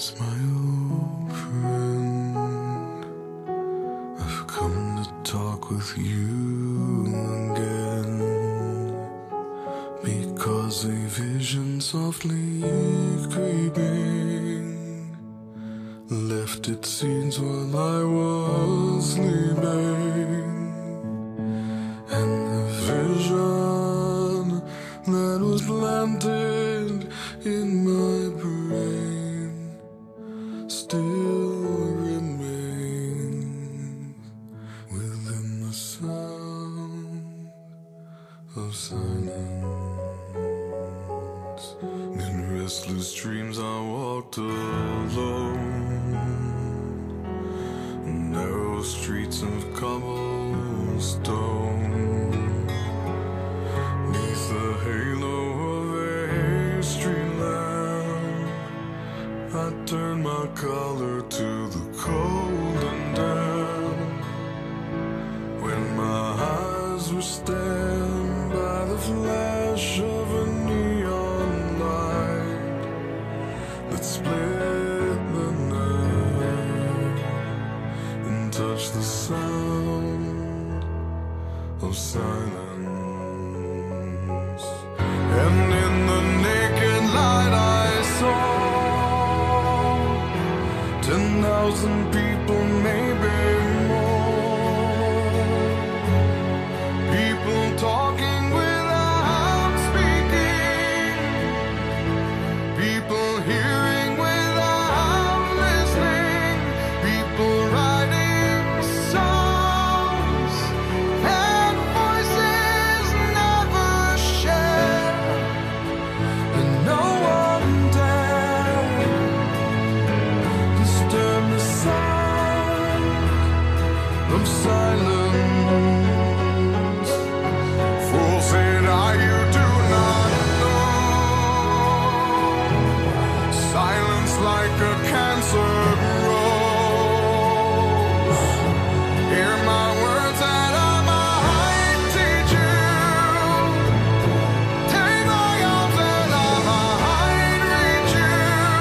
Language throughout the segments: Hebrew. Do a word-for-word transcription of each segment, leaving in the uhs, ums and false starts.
my old friend, I've come to talk with you again, because a vision softly creeping left its seeds while I was sleeping, and the vision that was planted in my brain still remains within the sound of silence. In restless dreams I walked alone, narrow streets of cobblestone, neath the halo of a street lamp, I turned my collar to the cold and damp, when my eyes were stabbed by the flash of a neon light that split the night and touched the sound of silence. And in the naked light I saw ten thousand people, maybe more, people talking without speaking, people hearing without listening, people writing songs and voices never shared, and no one dared disturb the sound of silence. Fool said I, you do not know, silence like a cancer grows. Hear my words that I might teach you, take my arms that I might reach you,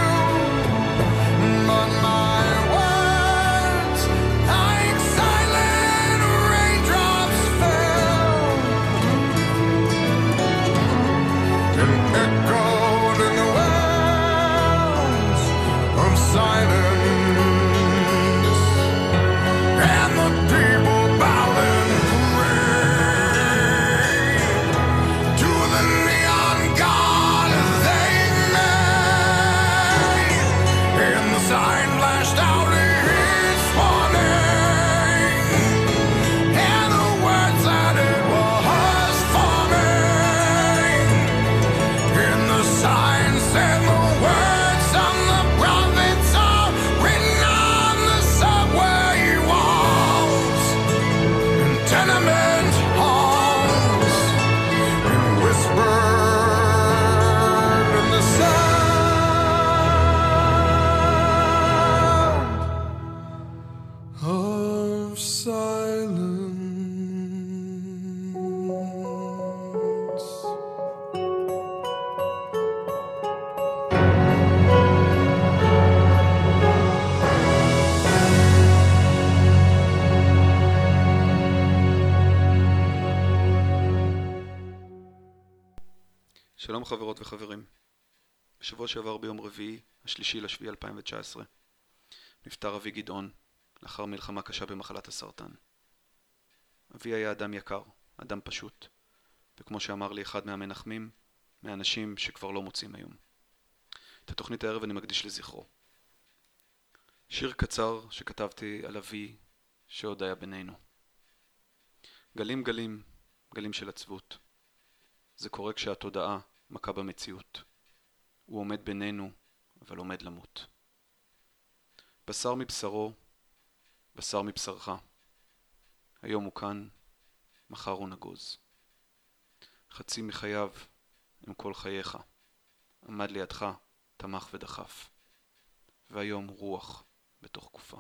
but my words like silent raindrops fell and echoed in the wells of silence, and the people bowed and prayed to the neon god they made, and the sign flashed out its warning, and the words that it was forming, and the sign said the words of the prophets are written on the subway walls and tenement halls, and whispered in the sound of silence. שלום חברות וחברים. בשבוע שעבר ביום רביעי, השלישי לשביעי אלפיים תשע עשרה, נפטר אבי גדעון לאחר מלחמה קשה במחלת הסרטן. אבי היה אדם יקר, אדם פשוט, וכמו שאמר לי אחד מהמנחמים, מהאנשים שכבר לא מוצאים היום. את התוכנית הערב אני מקדיש לזכרו. שיר קצר שכתבתי על אבי שעוד היה בינינו. גלים גלים, גלים של עצבות. זה קורה כשהתודעה מכה במציאות. הוא עומד בינינו, אבל עומד למות. בשר מבשרו, בשר מבשרך. היום הוא כאן, מחר הוא נגוז. חצי מחייו עם כל חייך. עמד לידך, תמך ודחף. והיום רוח בתוך גופה.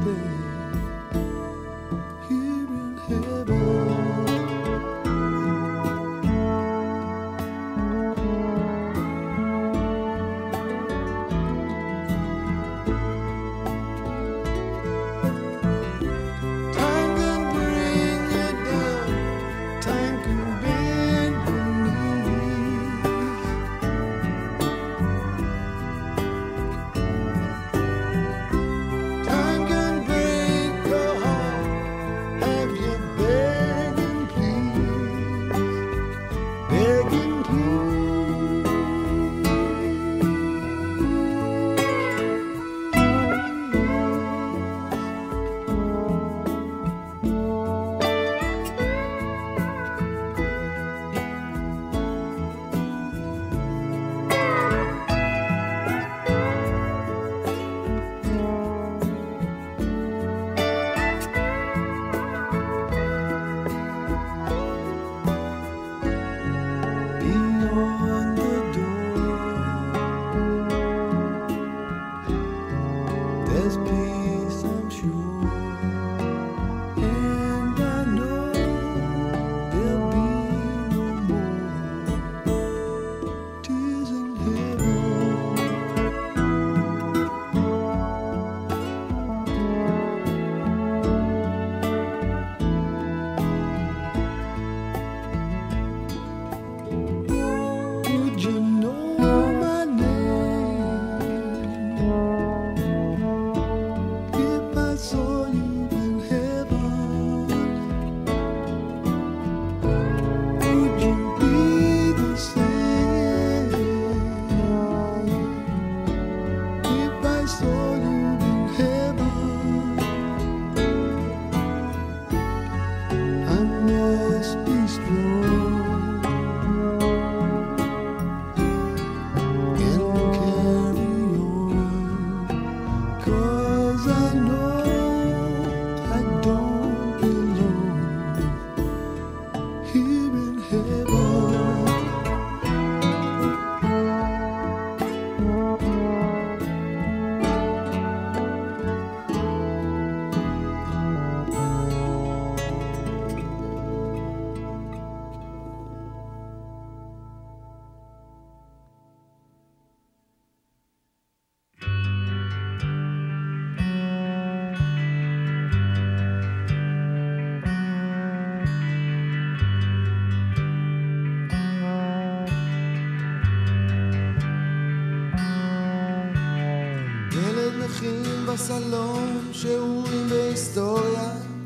בסלון שיעורים בהיסטוריה,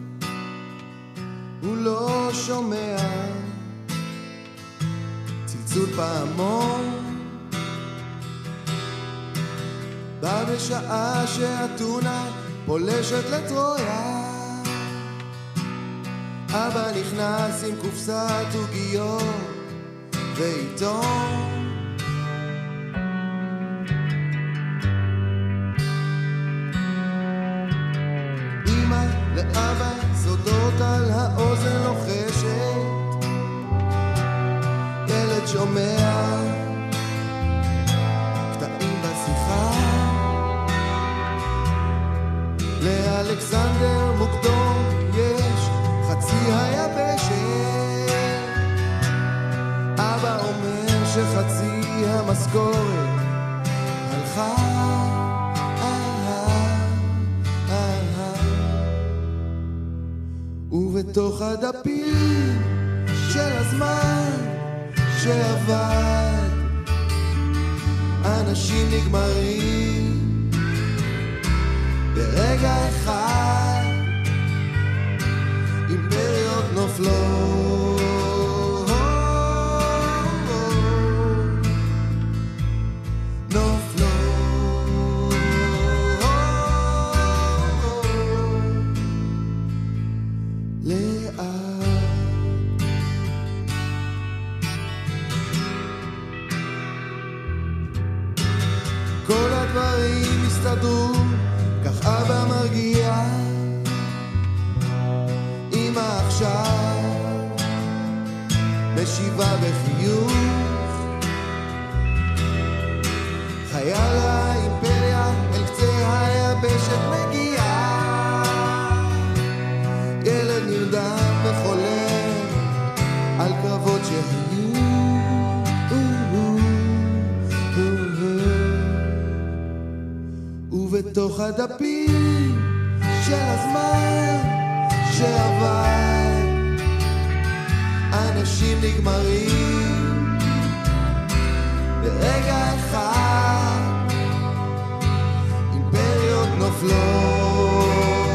הוא לא שומע צלצול פעמון, בא בשעה שהטונה פולשת לטרויה, אבא נכנס עם קופסת עוגיות ועיתון, לאבא סודות על האוזן לוחשת, ילד שומע קטעים בשיחה, לאלכסנדר מוקדום יש חצי היבשת, אבא אומר שחצי המשכורת הלכה, ובתוך הדפים של הזמן שעבד אנשים נגמרים ברגע אחד, אימפריות נופלות, כך אבא מרגיע, אמא עכשיו משיבה בחיוך, חייל האימפריה אל קצה היבשת מגיעה, ובתוך הדפים של הזמן שעבר אנשים נגמרים ברגע אחד, אימפריות נופלות,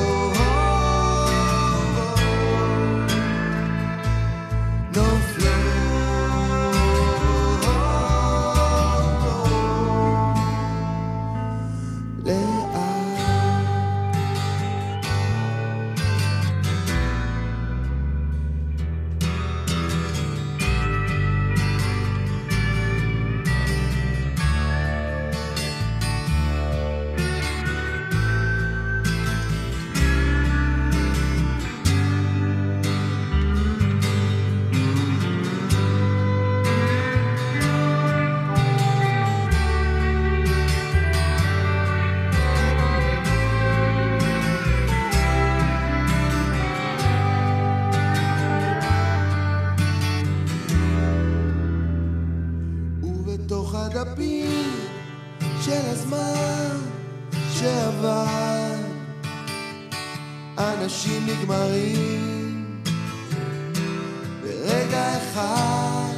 בתוך הדפים של הזמן שעבר אנשים נגמרים ברגע אחד,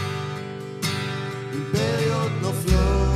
אימפריות נופלות,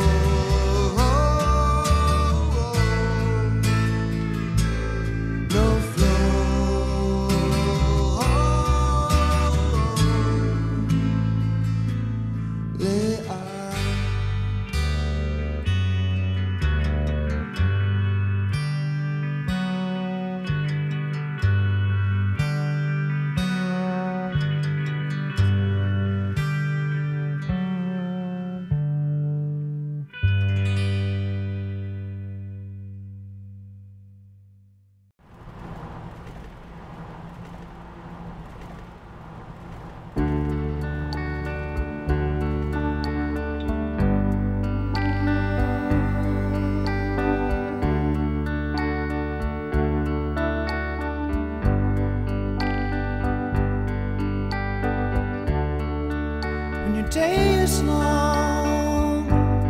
day is long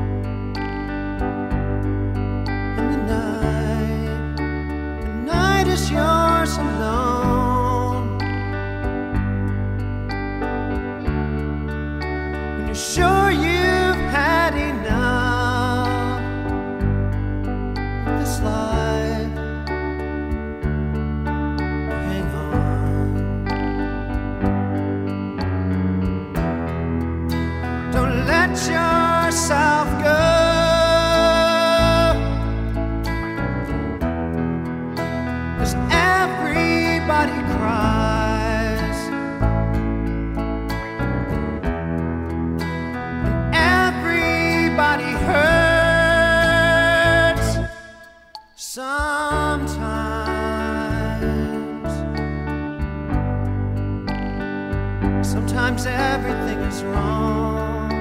and the night, the night is yours alone. When you're sure you've had enough of this life, hang on. Don't let yourself go, 'cause everybody cries and everybody hurts sometimes. Sometimes everything is wrong.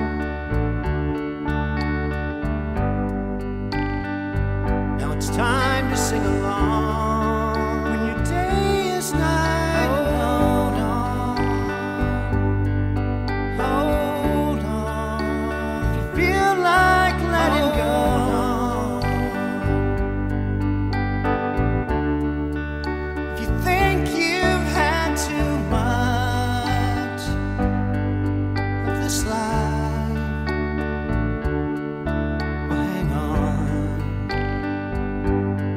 It's time to sing along. When your day is night, hold on, hold on. If you feel like letting go, if you think you've had too much of this life, well, hang on.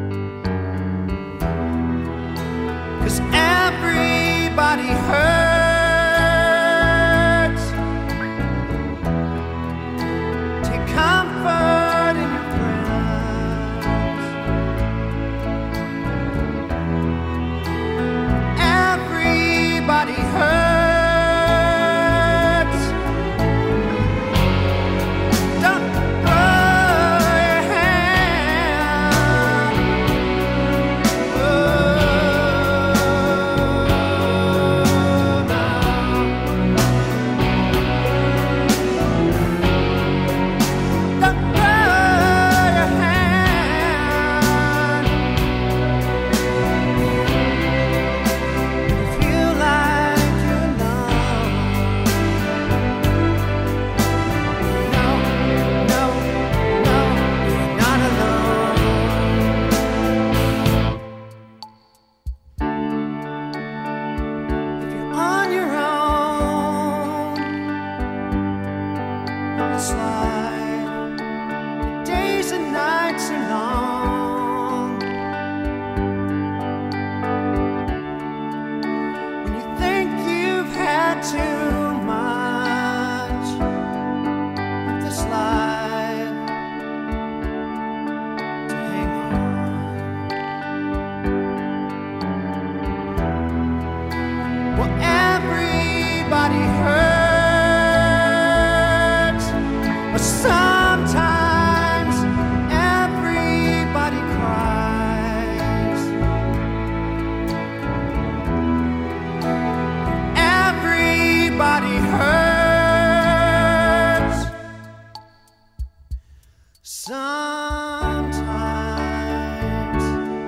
sometimes.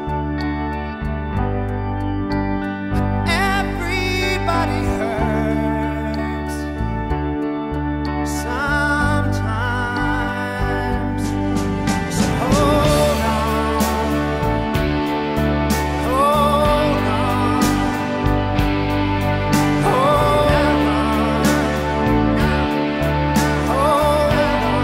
But everybody hurts sometimes. So hold on, hold on, hold on, hold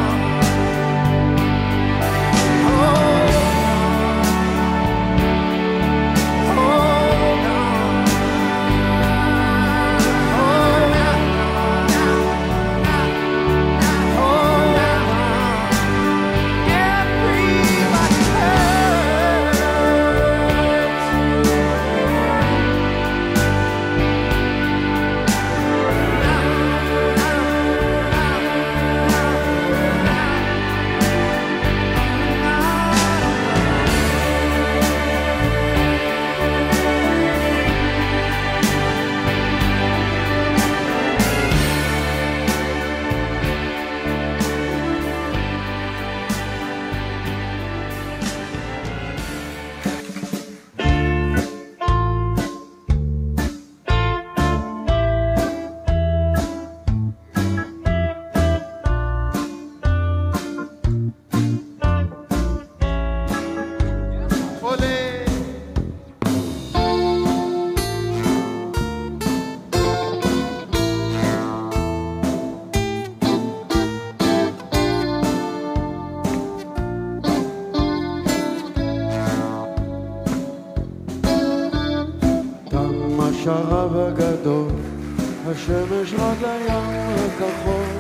תם השרב הגדול, השמש רד לים הכחול,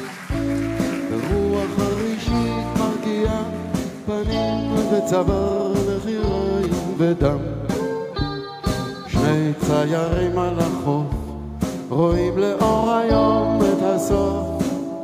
ורוח הראשית מרגיעה פנים וצוואר וחיריים ודם. שני ציירים על החוף רואים לאור היום את הסוף,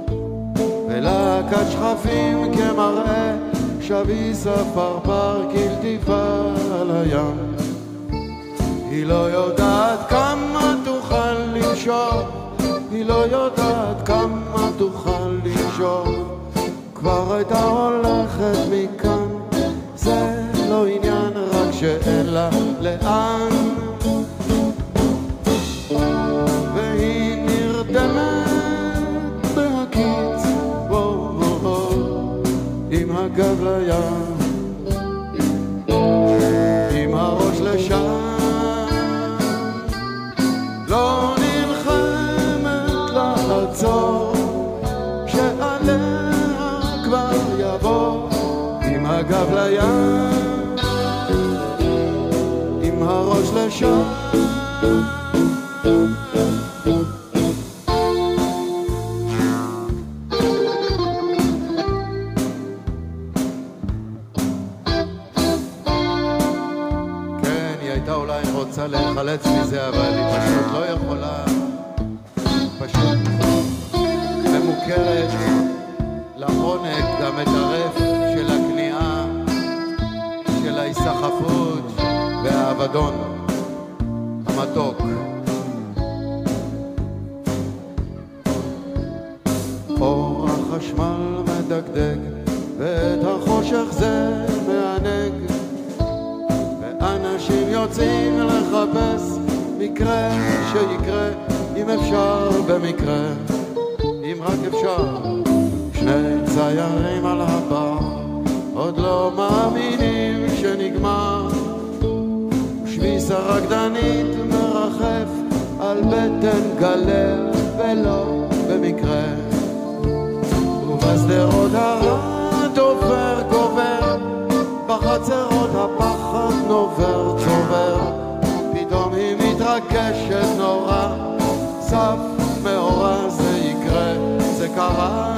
ולהקת שכפים כמראה שביס הפרפר כלטיפה על הים. היא לא יודעת כמה תוכל לנשור, היא לא יודעת כמה תוכל לנשור, כבר הייתה הולכת מכאן, זה לא עניין רק שאין לה לאן. והיא נרדמת בהקיץ, וואו וואו, עם הגב לים, עם הראש לשם, לא נלחמת לעצור, שעליה כבר יבוא, עם הגב לים, עם הראש לשם. כן, היא הייתה אולי רוצה להיחלץ מזה, אבל היא פשוט לא יכולה, פשוט ממוכרת לעונג המטרף של הכניעה, של ההיסחפות והאבדון המתוק. אור החשמל מדגדג ואת החושך זה מענג, ואנשים יוצאים לחפש מקרה שיקרה, אם אפשר במקרה, אם רק אפשר. שני ציירים על הבר עוד לא מאמינים שנגמר, שביס הרקדנית מרחף על בטן גלל ולא במקרה, ובשדרות הרעד עובר גובר, בחצרות הפחד נובר צובר, פתאום היא מתרגשת נורא, סף מאורע זה יקרה, זה קרה.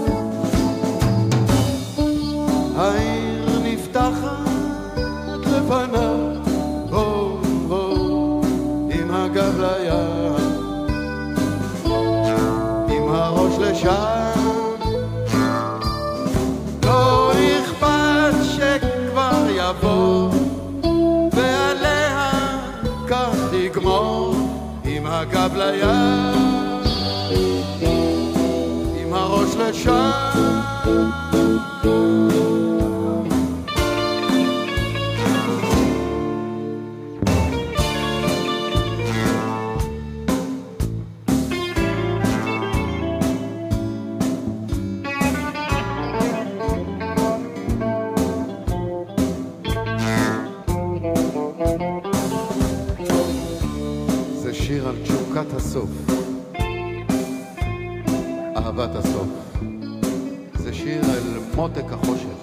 העיר נפתחת לפניו, בוא בוא, עם הגב לים, עם הראש לשם, לא אכפת שכבר יבוא, ועליה כך תגמור, עם הגב לים, עם הראש לשם. חלוקת הסוף, אהבת הסוף. זה שיר אל מותק החושך.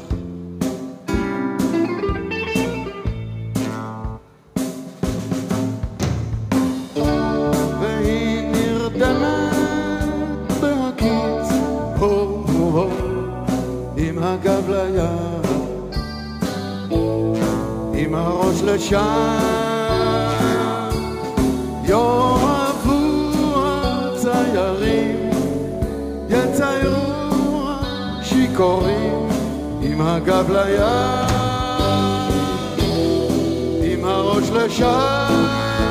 והיא נרדמת בהקיץ, הו הו עם הגב לים, עם הראש לשם. יאהבו הציירים, יציירו השיכורים, עם הגב לים, עם הראש לשם.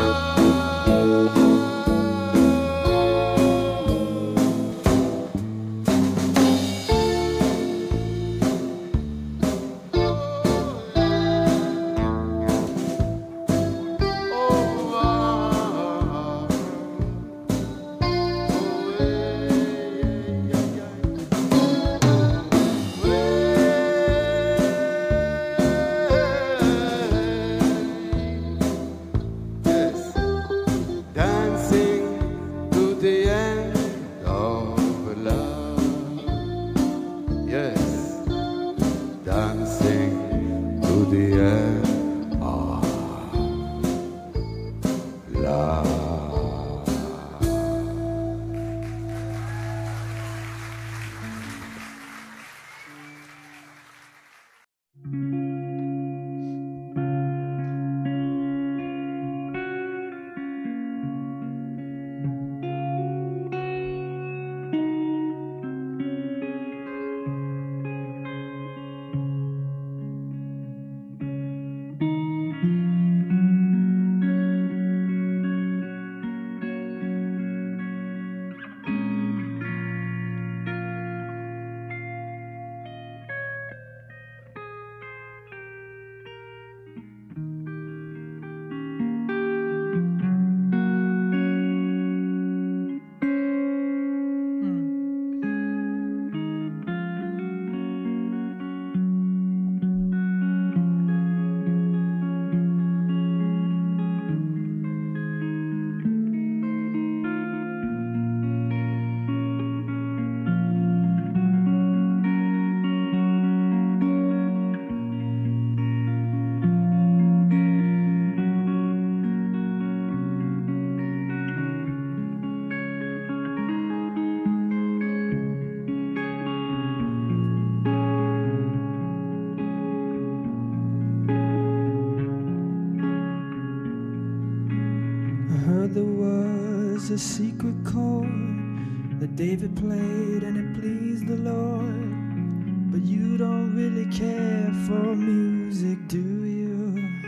A secret chord that David played and it pleased the Lord. But you don't really care for music, do you?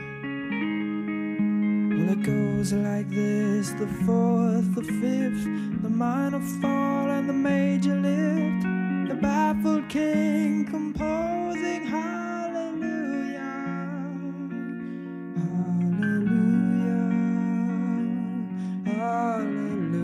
Well, it goes like this: the fourth, the fifth, the minor fall and the major lift, the baffled king composing hallelujah, hallelujah, hallelujah.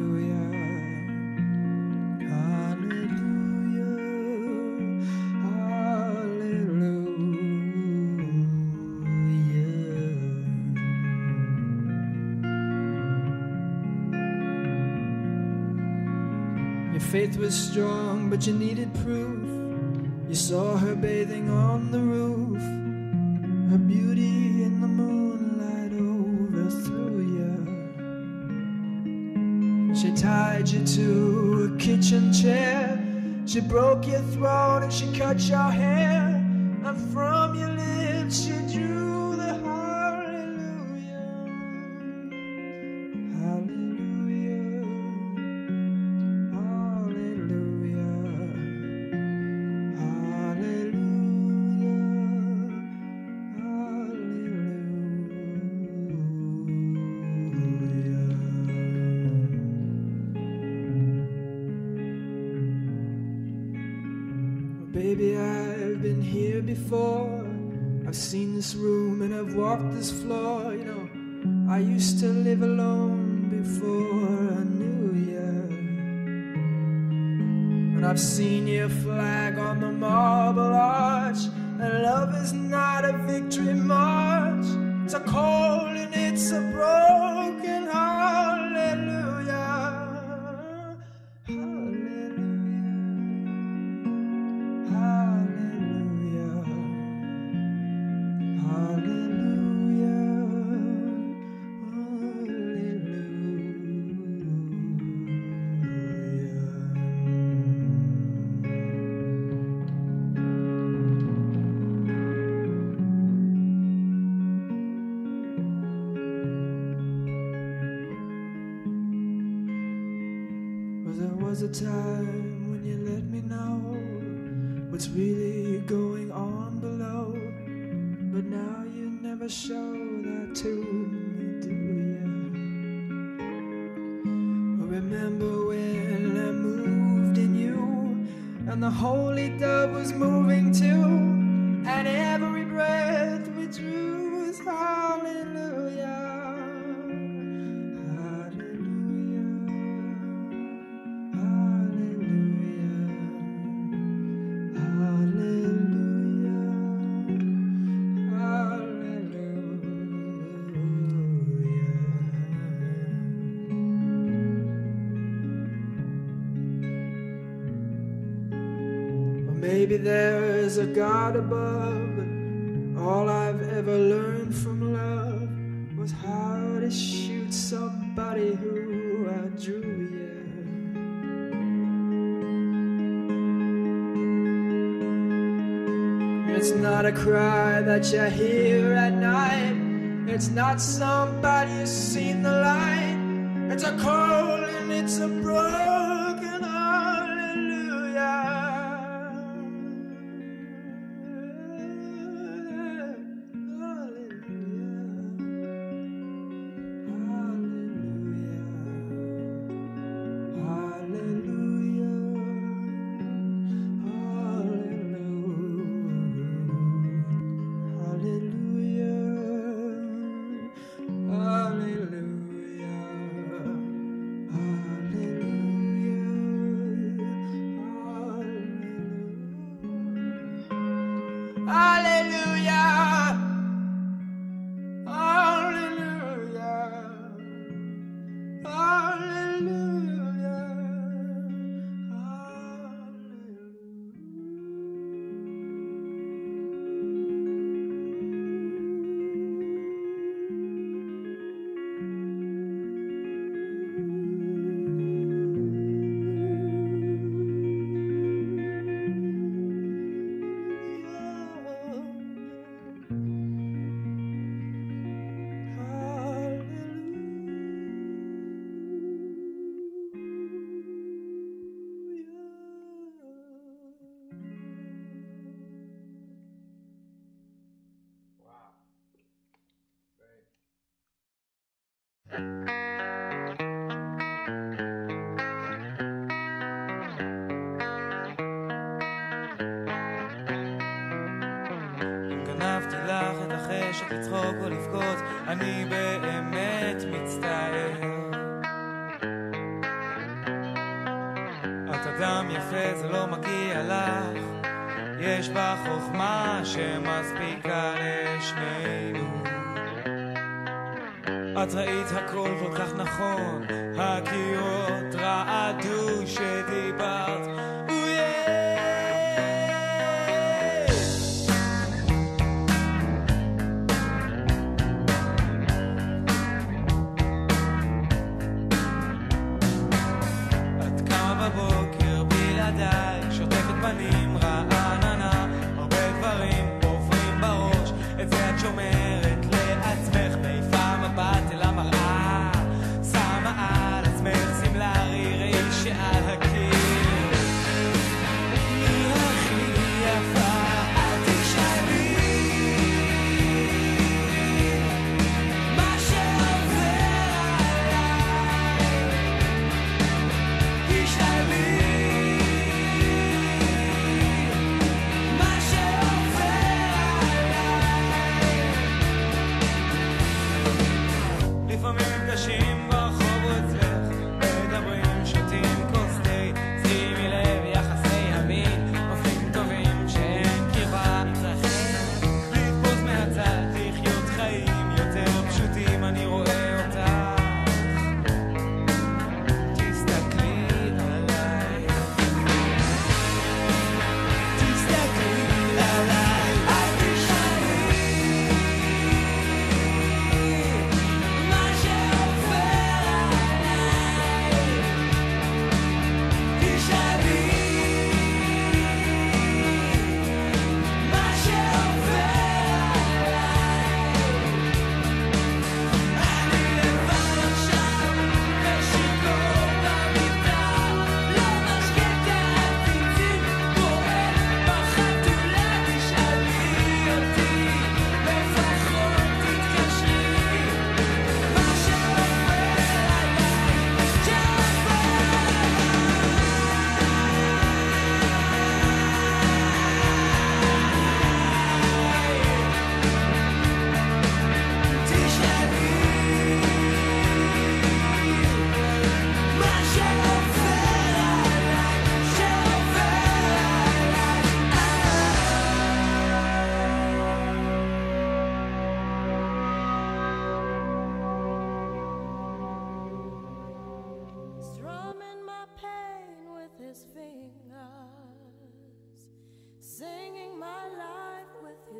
Faith was strong, but you needed proof. You saw her bathing on the roof. Her beauty in the moonlight overthrew you. She tied you to a kitchen chair. She broke your throat and she cut your hair. And from your lips she drew the hallelujah, hallelujah. Baby, I've been here before. I've seen this room and I've walked this floor. You know, I used to live alone before I knew you. And I've seen your flag on the marble arch. And love is not a victory march. It's a cold and it's a broken hallelujah. was a time when you let me know what's really going on below, but now you never show that to me, do ya? Remember when I moved in you, and the holy dove was moving too, and every breath we drew was hallelujah. Maybe there's a God above, but all I've ever learned from love was how to shoot somebody who I drew, yeah. It's not a cry that you hear at night, it's not somebody who's seen the light, it's a call and it's a broken hallelujah. גנבתי לך את החשק לצחוק או לבכות, אני באמת מצטער. את אדם יפה, זה לא מגיע לך, יש בה חוכמה שמספיקה לשנינו. את ראית הכל כל כך נכון, הקירות רעדו שדיברת, שוטפת פנים רעננה, הרבה דברים עוברים בראש, את זה את שומרת לעצמך, מעיפה מבט אל המראה, שמה על עצמך סמלרי ראי שעל הקיר, מי הכי יפה את תשאלי מה שעובר עליי, תשאלי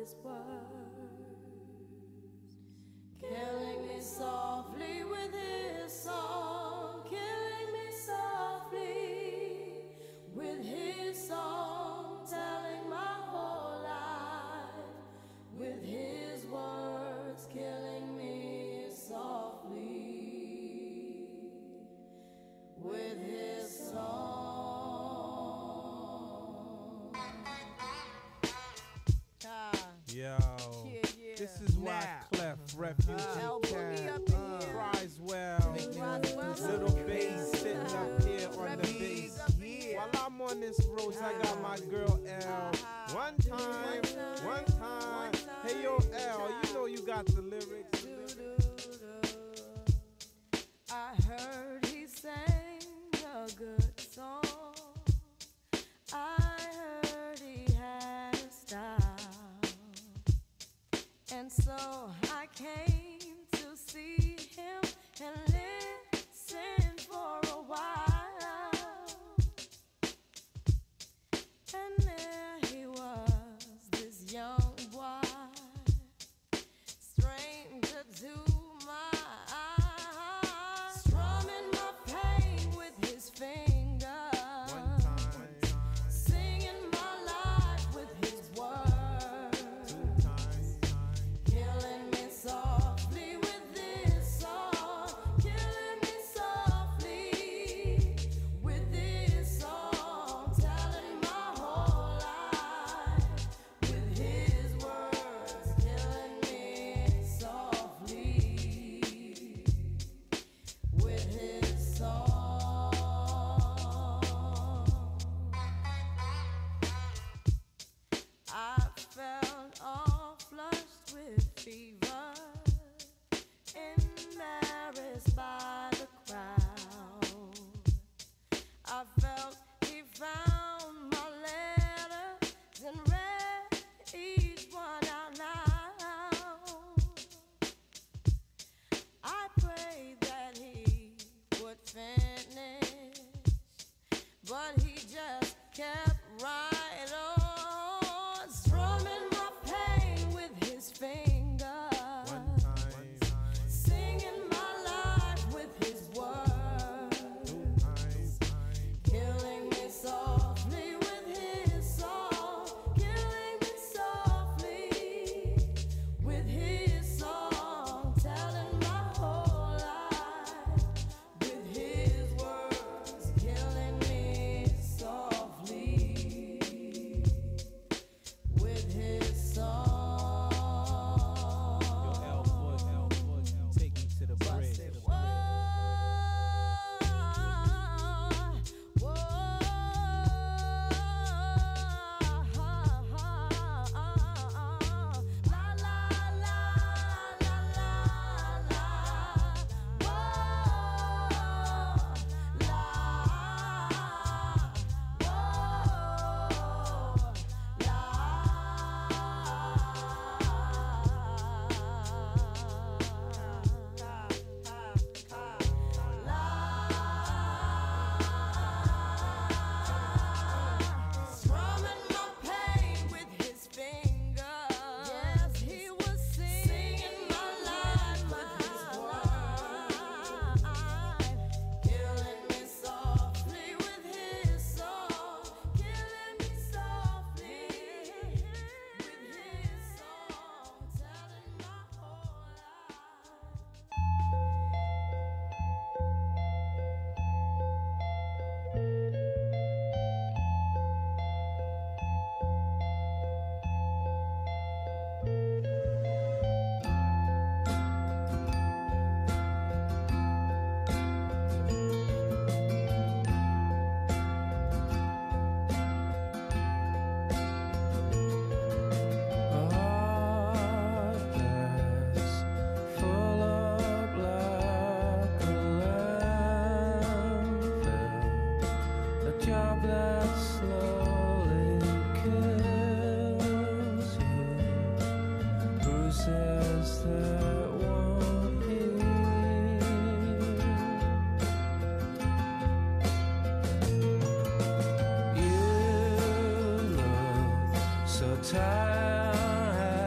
his words, killing me softly with his song, killing me softly with his song, telling my whole life with his words, killing me softly with his song. Yo, Yeah, yeah. this is why Now. Clef Refugee Now, put me Cat up in here. cries well. well. Little bass sitting up here on the bass. While I'm on this road, I got my girl L. One time, one time. Hey yo, L, you know you got the lyrics. I heard he sang a good song. I heard he had a style. And so I came to see him and listen for a while. And there he was, this young boy, stranger to my eyes, strumming my pain with his fingers, One time, singing my life with his words, two times, killing me softly with this song, killing me softly with this song, telling my whole life with his words, killing me softly with his song. I felt all flushed with fever, embarrassed by the crowd. I felt he found my letters and read each one out loud. I prayed that he would finish, but he just kept right on, strumming my pain with his fingers, one time, singing my life with his words, two times, killing me softly with his song, killing me softly with his song, telling my whole life with his words, killing me softly with his song. Yo, L Foot, L Foot, take me to the bridge. Whoa, whoa, la la la la la la, whoa, la, strumming my pain with his fingers. Yes, he was singing my life with his words, killing me softly with his song, killing me softly with his song, telling my whole life. Full of black landfill, a job that slowly kills you, bruises that won't heal. You look so tired.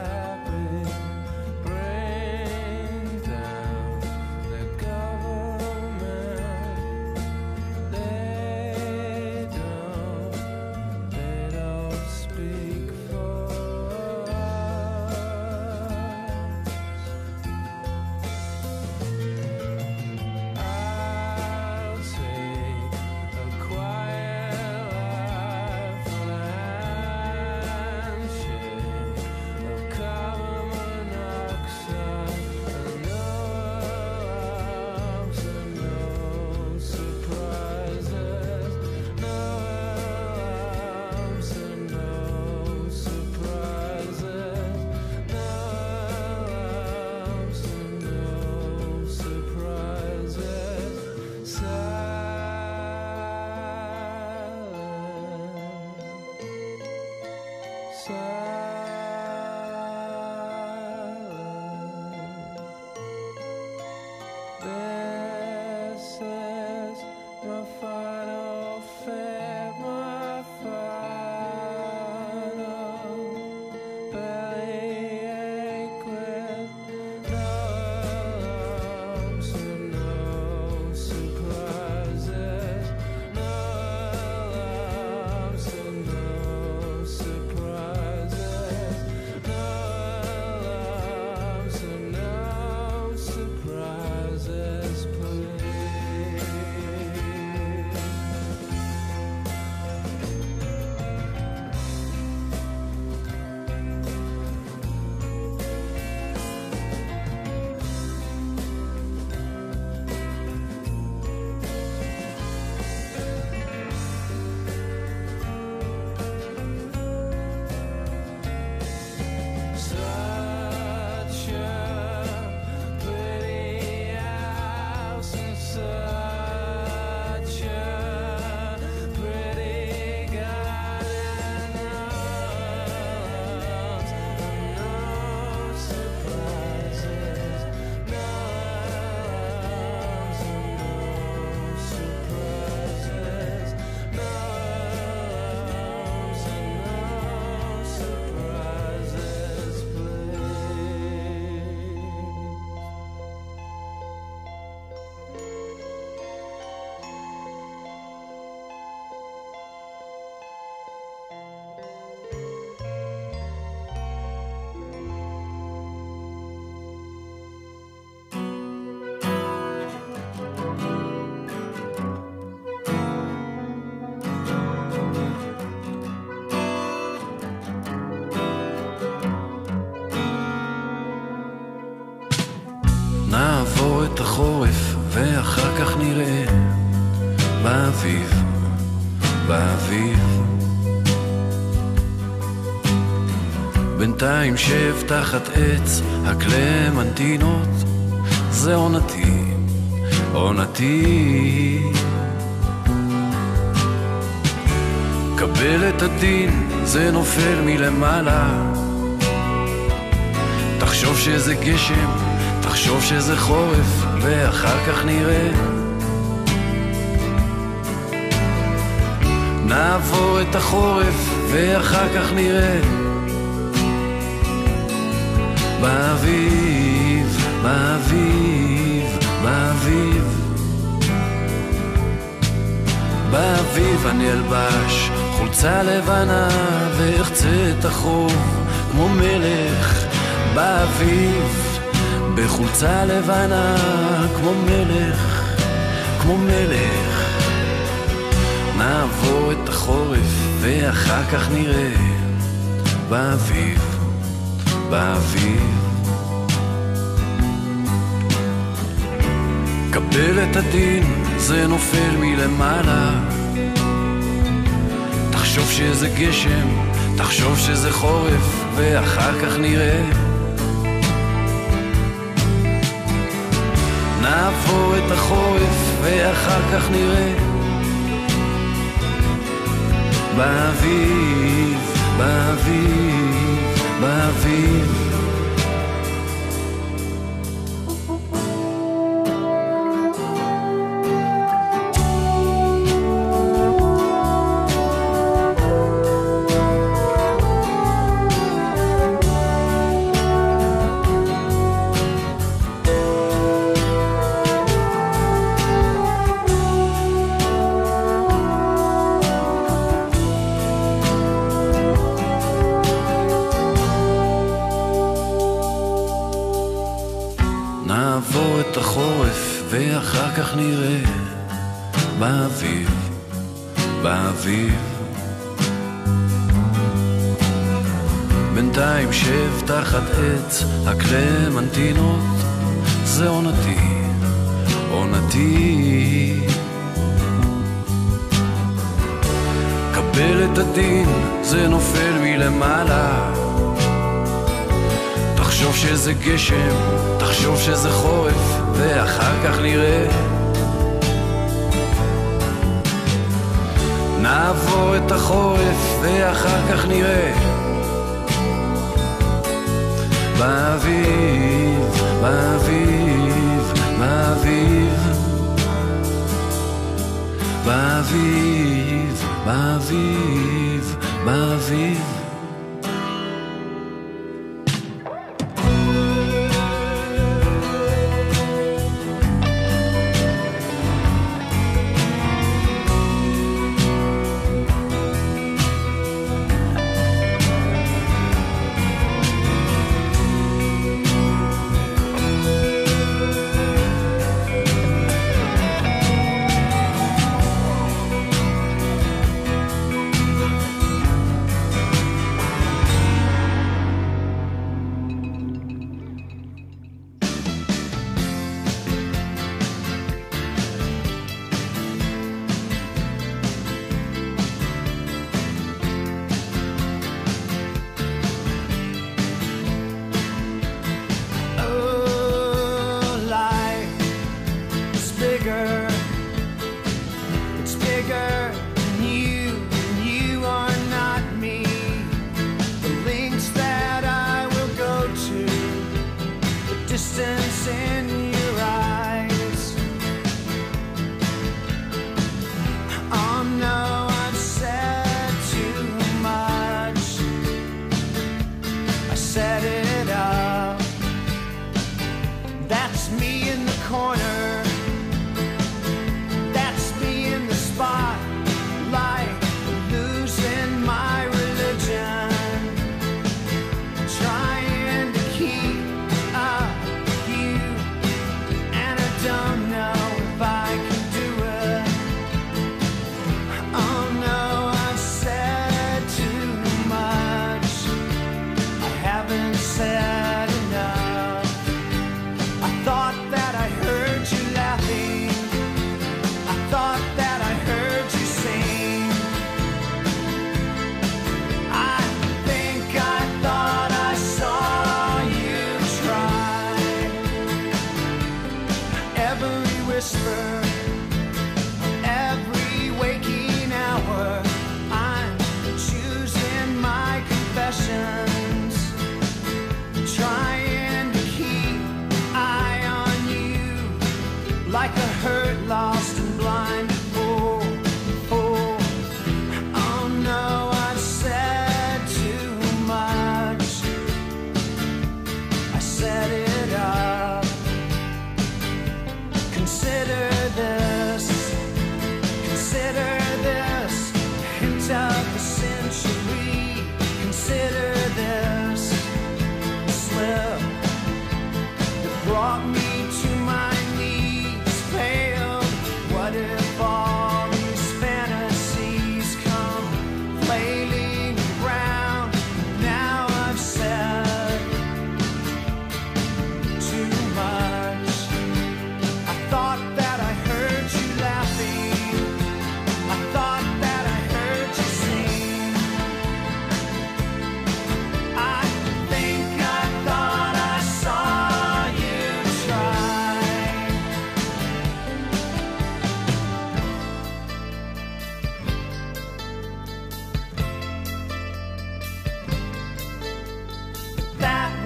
את החורף ואחר כך נראה באביב, באביב. בינתיים שב תחת עץ הקלמנטינות, זה עונתי, עונתי. קבל את הדין, זה נופל מלמעלה. תחשוב שזה גשם, תחשוב שזה חורף, ואחר כך נראה. נעבור את החורף, ואחר כך נראה. באביב, באביב, באביב. באביב אני אלבש חולצה לבנה ואחצה את החוב כמו מלך. באביב בחולצה לבנה כמו מלך, כמו מלך. נעבור את החורף ואחר כך נראה. באביב, באביב. קבל את הדין, זה נופל מלמעלה. תחשוב שזה גשם, תחשוב שזה חורף, ואחר כך נראה. נעבור את החורף, ואחר כך נראה. באביב, באביב, באביב. נעבור את החורף ואחר כך נראה. באביב, באביב. בינתיים שב תחת עץ הקלמנטינות, זה עונתי, עונתי. קבל את הדין, זה נופל מלמעלה. תחשוב שזה גשם, תחשוב שזה חורף, ואחר כך נראה. נעבור את החורף, ואחר כך נראה. באביב, באביב, באביב. באביב, באביב, באביב.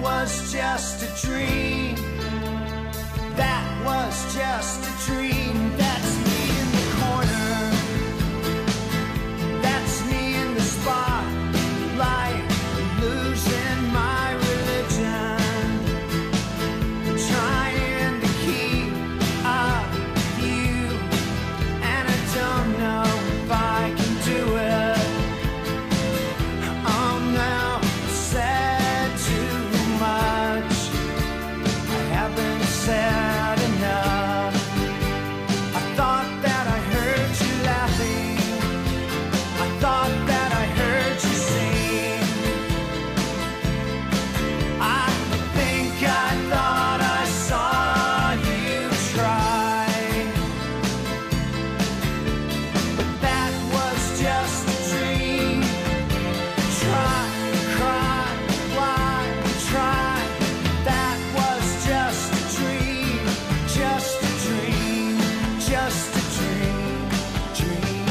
was just a dream. That was just a dream. That's me in the corner. That's me in the spotlight, losing my religion, trying to keep up with you, and I don't know if I can do it. Oh no, I said too much. I haven't said enough. I thought that I heard you laughing. I thought that I heard you sing. I think I thought I saw you try, but that was just a dream. Try, cry, why, try. That was just a dream, just a dream, just a dream, dream.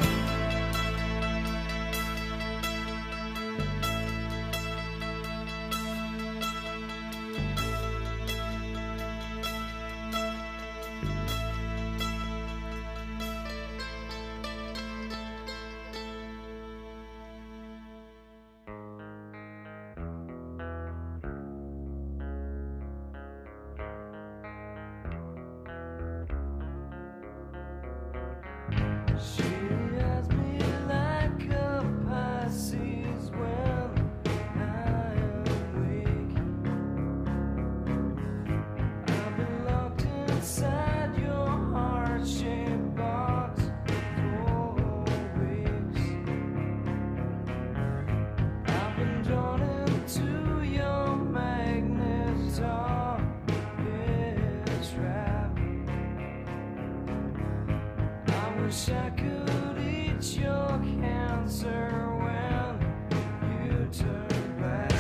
She has me like a Pisces when I am weak. I've been locked inside your heart-shaped box for weeks. I've been drawn into your magnet trap. I wish I could eat your cancer when you turn back.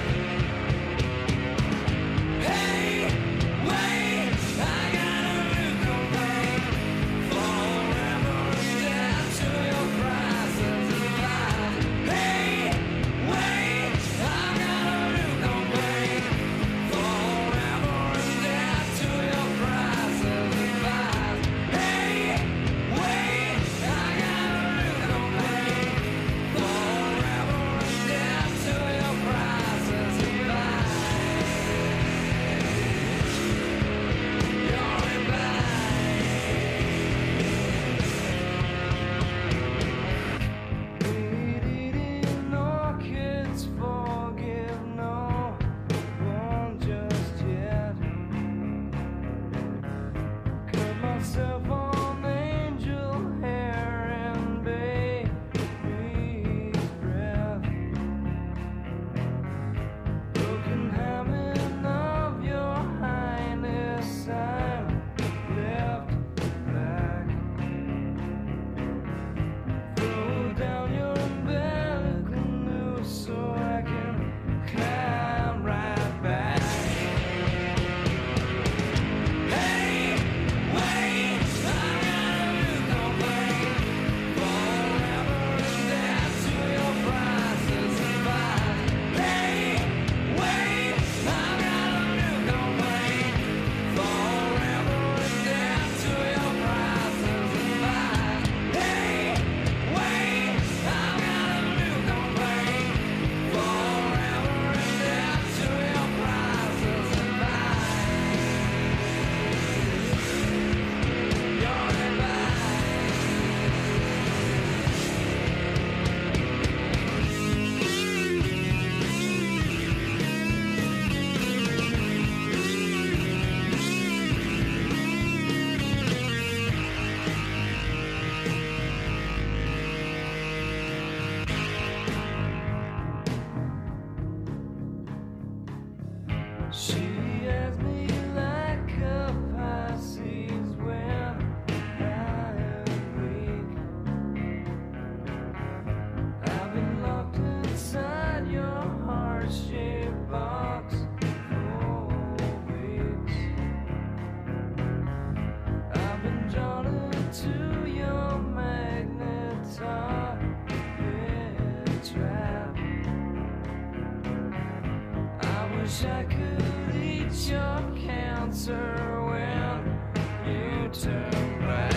Hey, wait, I got a new complaint. Forever dead to your prices of life. Hey, wait, I got a new complaint. Forever dead to your prices of life. Hey, wait, I got a new complaint. Forever dead to your prices of life. Your reply. Eating orchids, forgive no one just yet. Cut myself on angel hair and baby's breath. Broken hymen of your highness, I'm left back. Throw down your umbilical noose so I can climb right back. Hey, wait, I got a new complaint. Forever dead to your prices of life. Hey, wait, I got a new complaint. Forever dead to your prices of life. Hey, wait, I got a new complaint. Forever dead to your prices of life. Your She has me like a Pisces when I am weak. I've been locked inside your heart-shaped box for weeks. I've been drawn into your magnet trap. I wish wish I could eat your cancer when you turn back.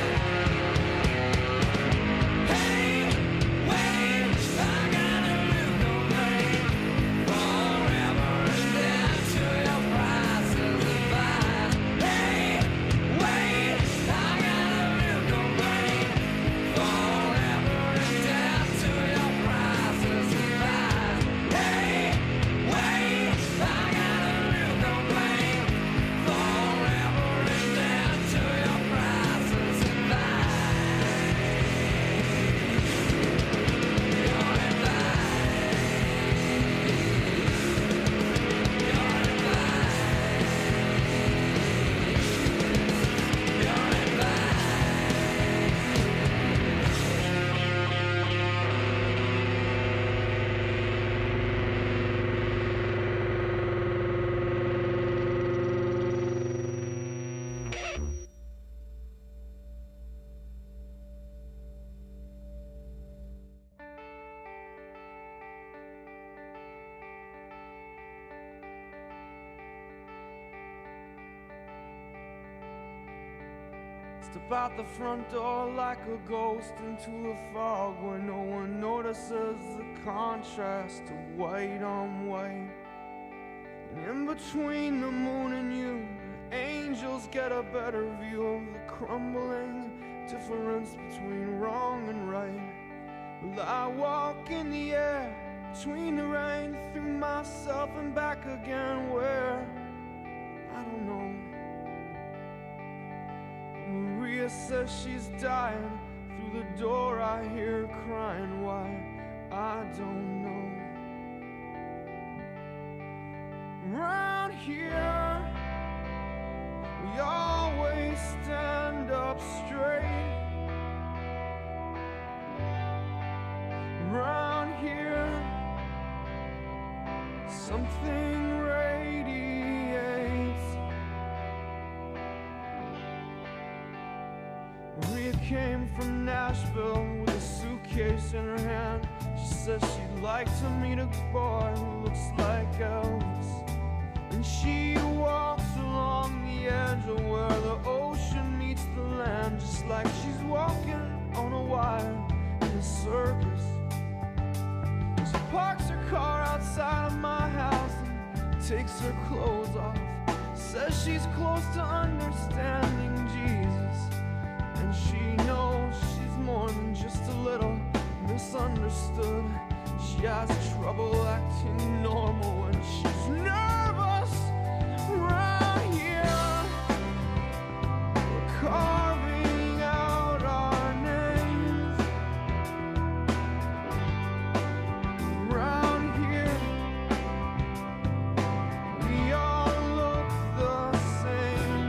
Hey, wait, I got a new complaint. Forever and down to your prices of fine. Hey, wait, I got a new complaint. Forever and down to your prices of fine. Hey, wait, I got a new complaint. Forever and down to your prices of fine. You're in Step out the front door like a ghost into the fog where no one notices the contrast of white on white. And in between the moon and you, the angels get a better view of the crumbling difference between wrong and right. Well, I walk in the air between the rain, through myself and back again, where I don't know. Maria says she's dying. Through the door I hear her crying. Why? I don't know. Round here we always stand up straight. Round here something radiates. Maria came from Nashville with a suitcase in her hand. She says she'd like to meet a boy who looks like Elvis. And she walks along the edge of where the ocean meets the land, just like she's walking on a wire in a circus. She parks her car outside of my house and takes her clothes off. Says she's close to understanding Jesus, and she knows she's more than just a little misunderstood. She has trouble acting normal when she's nervous. Round here we're carving out our names. Round here we all look the same.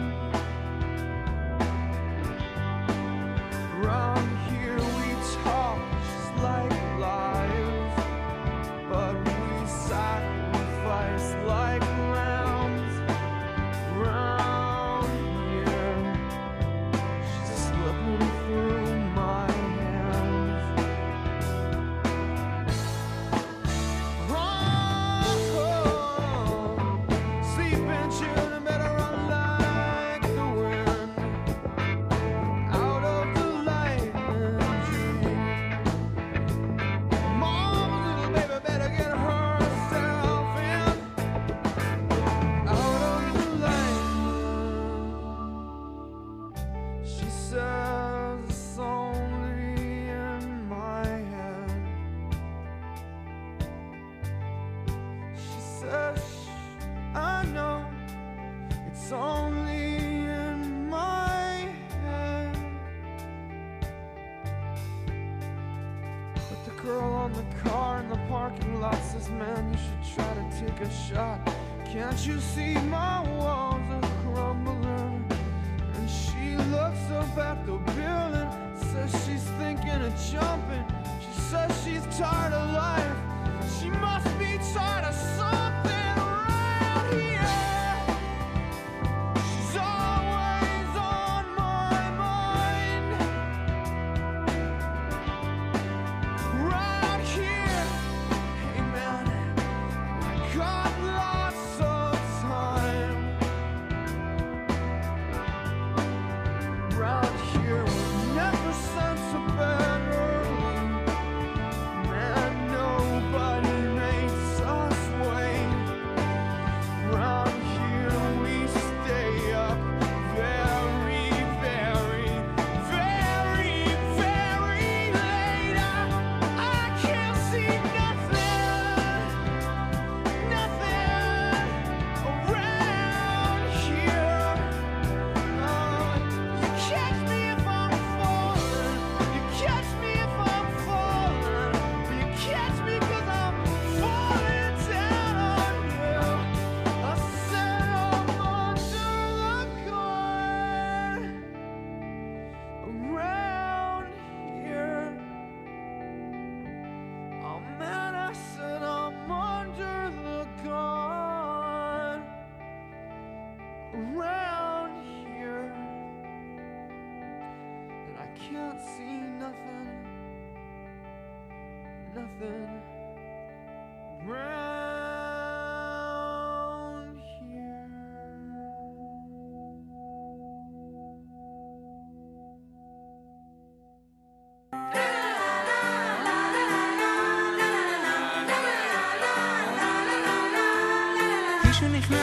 Round here we talk just like liars, but we sacrifice like lambs. Round here she's slipping through my hands. Oh, sleeping children better run like the wind out of the lightning tree. Mama's little baby better get herself in out of the lightning. She says it's only in my head. She says, I know it's only in my head. But the girl on the car in the parking lot says, man, you should try to take a shot. Can't you see my walls are crumbling? And she looks up at the building, says she's thinking of jumping. She says she's tired of life. She must be tired of something around here. She's always on my mind. Round here, hey man, I got lots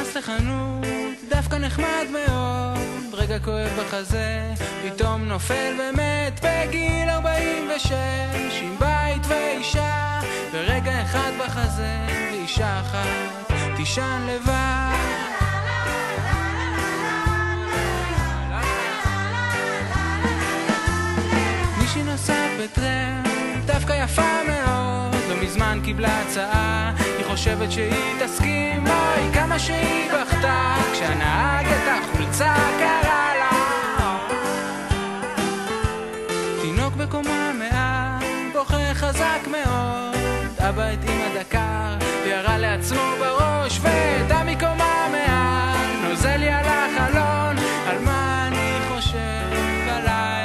נכנס לחנות, דווקא נחמד מאוד, רגע כואב בחזה, פתאום נופל ומת בגיל ארבעים ושש, עם בית ואישה, ורגע אחד בחזה, ואישה אחת תישן לבד. מישהי נוסעת בטרם, דווקא יפה מאוד, לא מזמן קיבלה הצעה, היא חושבת שהיא תסכים, אוי כמה שהיא בכתה, כשהנהג את החולצה קרא לה. תינוק בקומה מעל, בוכה חזק מאוד, אבא את אמא דקר, וירה לעצמו בראש, ודע מקומה מעל, נוזל לי על החלון, על מה אני חושב בלילה.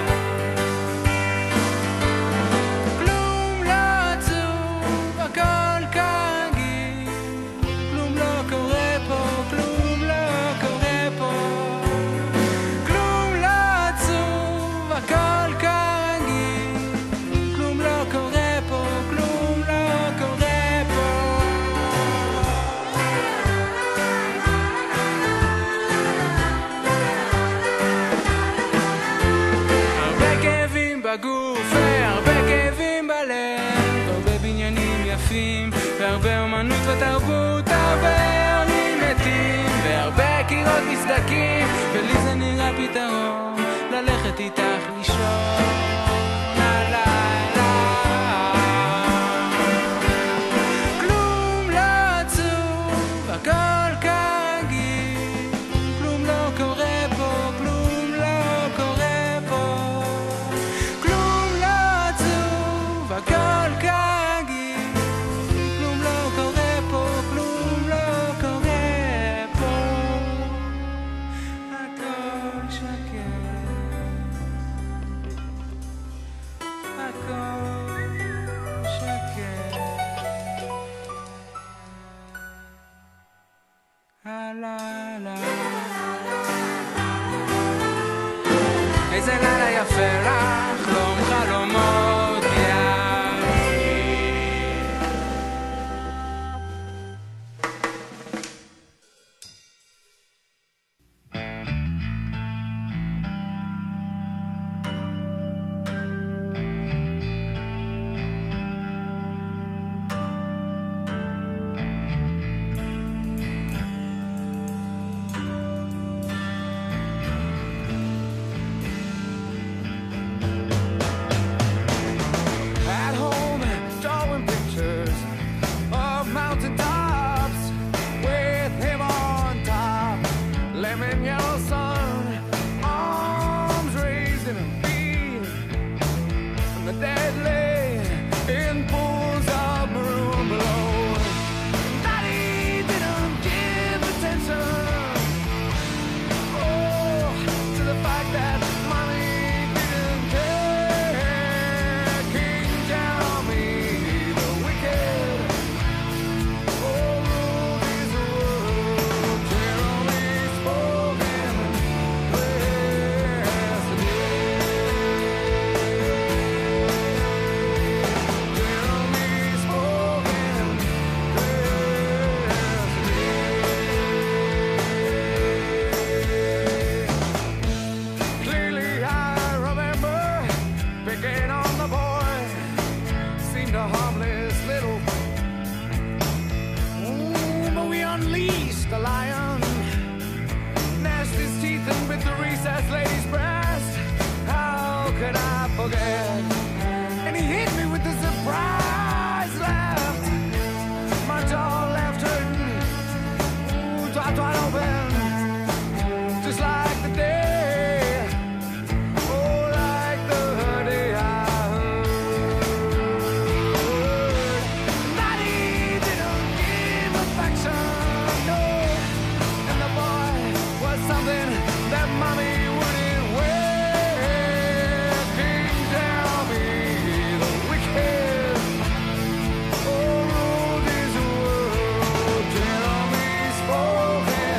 בגוף והרבה כאבים בלב, הרבה בניינים יפים והרבה אומנות ותרבות, הרבה עולים מתים והרבה קירות מסדקים, ולי זה נראה פתרון ללכת איתך לישון הלילה. כלום לא עצוב, הכל כרגיל, כלום לא קורה פה, כלום לא קורה פה, הכל כרגיל, כלום לא קורה פה, כלום לא קורה פה, הכל שקט, הכל שקט, הלילה. איזה לילה יפה לך, חלום חלומות spoken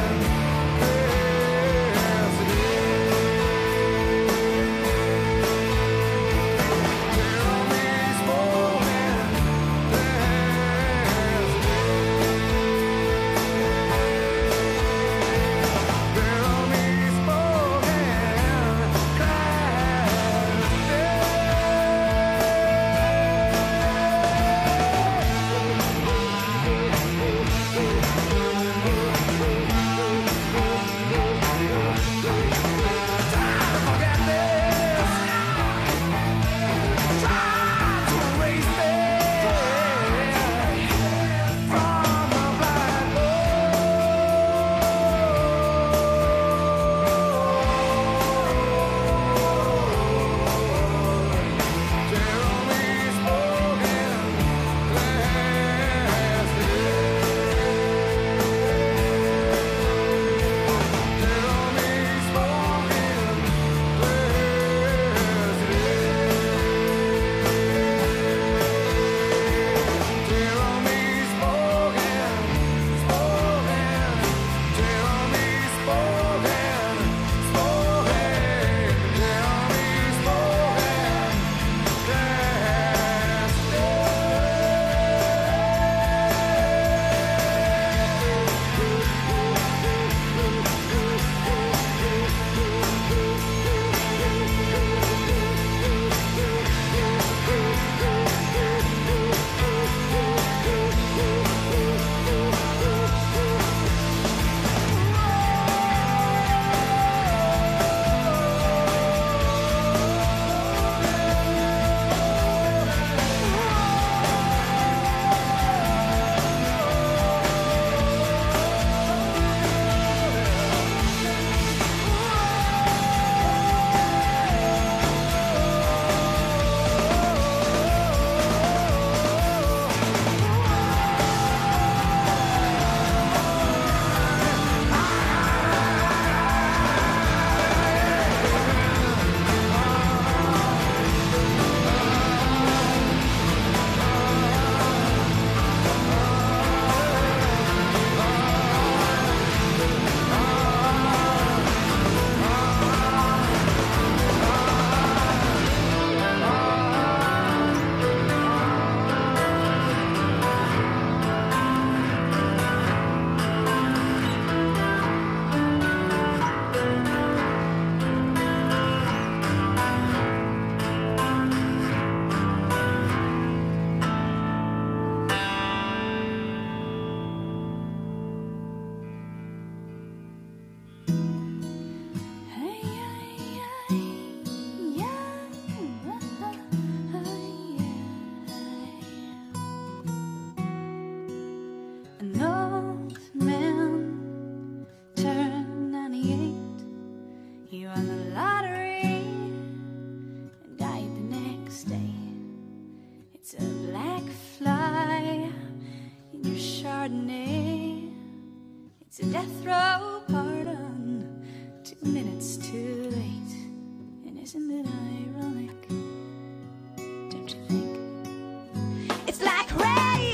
It's a death row pardon, two minutes too late. And isn't it ironic? Don't you think? It's like rain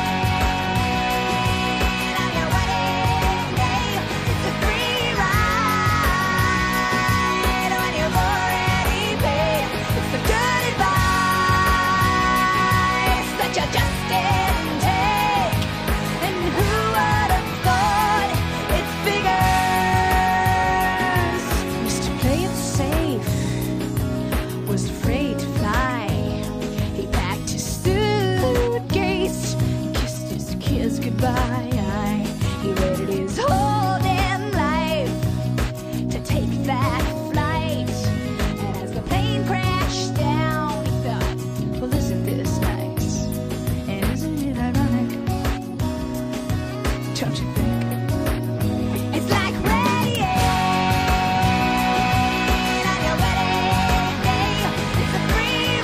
on your wedding day. It's a free ride when you've already paid. It's the good advice that you just didn't take. And who would have thought it figures? Used to play it safe, was afraid to fly. He packed his suitcase, kissed his kids goodbye. He waited his whole damn life to take that flight. And as the plane crashed down, he thought, well, isn't this nice? And isn't it ironic? Don't you think? It's like rain on your wedding day. It's a free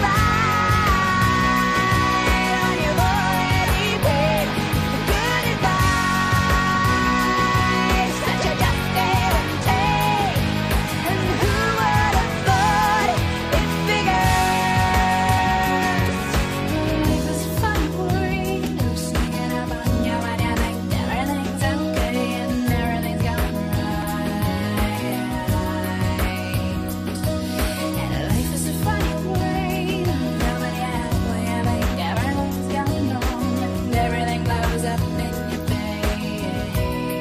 ride when you've already paid. It's the good advice that you just didn't take. And who would have thought it figures? Life is fun, boring. I'm sneaking up on you when you think everything's okay and everything's going right. And life is a funny way. Nobody has when you think everything's going wrong and everything blows up in your face.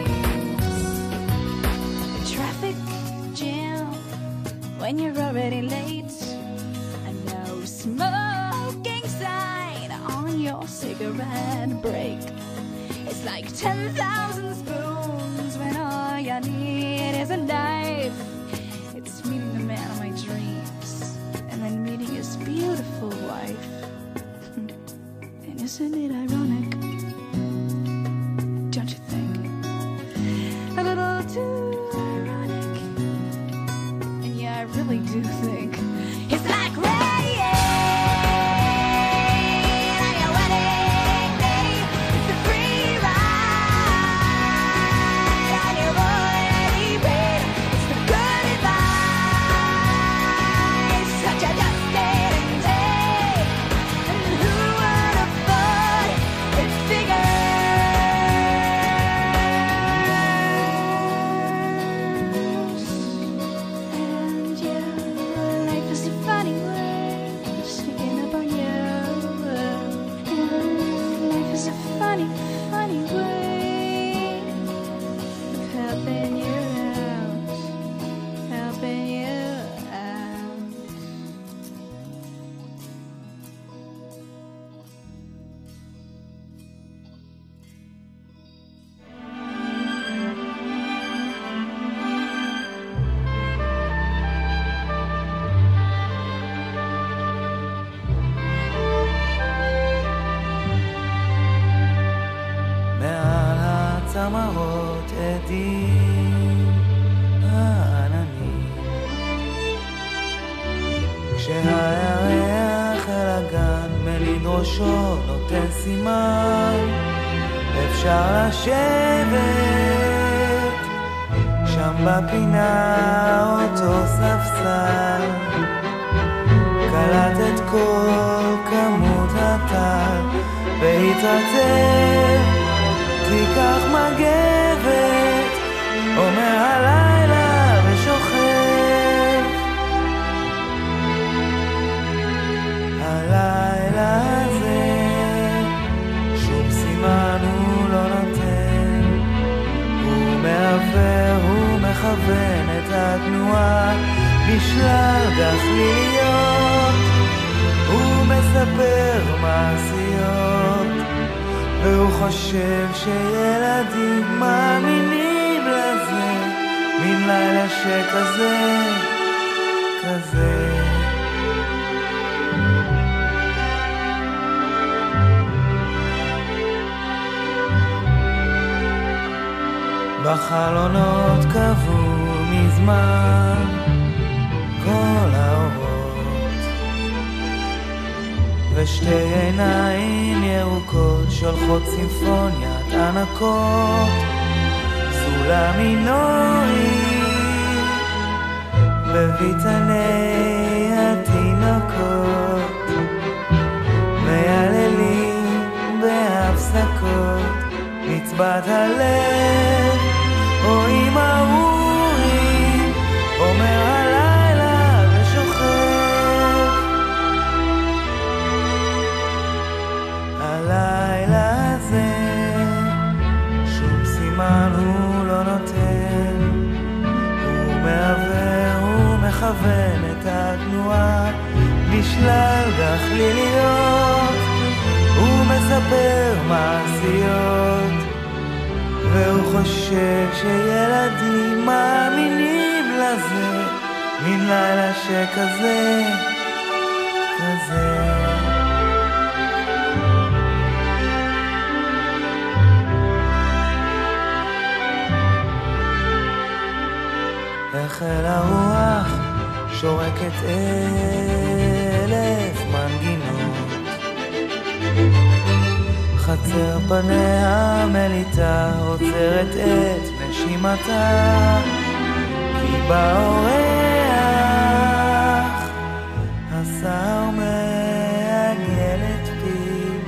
The traffic jam when you're already late. A no smoking sign on your cigarette break. It's like ten thousand spoons when all you need is a knife. It's meeting the man of my dreams and then meeting his beautiful wife. And isn't it ironic? Don't you think? A little too ironic. And yeah, I really do think it's like rain on your wedding day. It's a free ride on your already paid. It's the good advice that you just didn't take. And who would have thought it figures? And yeah, life is a funny way, sneaking up on you. And life is a funny, funny way of helping you out, helping you out. מעל הצמרות עדים העננים כשהירח אל הגן מליד ראשו נותן סימן אפשר לשבת שם בפינה אותו ספסל קלט את כל כמות הטל והתרצה תיקח מגבת אומר הלילה ושוכב הלילה הזה שום סימן הוא לא נותן הוא מעבר, הוא מכוון את התנועה בשלל גחליות הוא מספר מעשיות והוא חושב שילדים מאמינים לזה מן לילה שכזה, כזה בחלונות קבעו מזמן כל האורות ושתי עיניים ירוקות שולחות סימפוניית ענקות המינורים בביתני התינוקות מייללים בהפסקות נצבת הלב רואים ארורים אומר הלילה ושוכב הלילה הזה שום סימן הוא לא נותן הוא מעבר, הוא מכוון את התנועה בשלל גחליליות הוא מספר מעשיות והוא חושב שילדים מאמינים לזה מן לילה שכזה כזה החל הרוח שורקת אלף מנגינות חצר פניה מליטה עוצרת את נשימתה כי באורח השר מעגל את פיו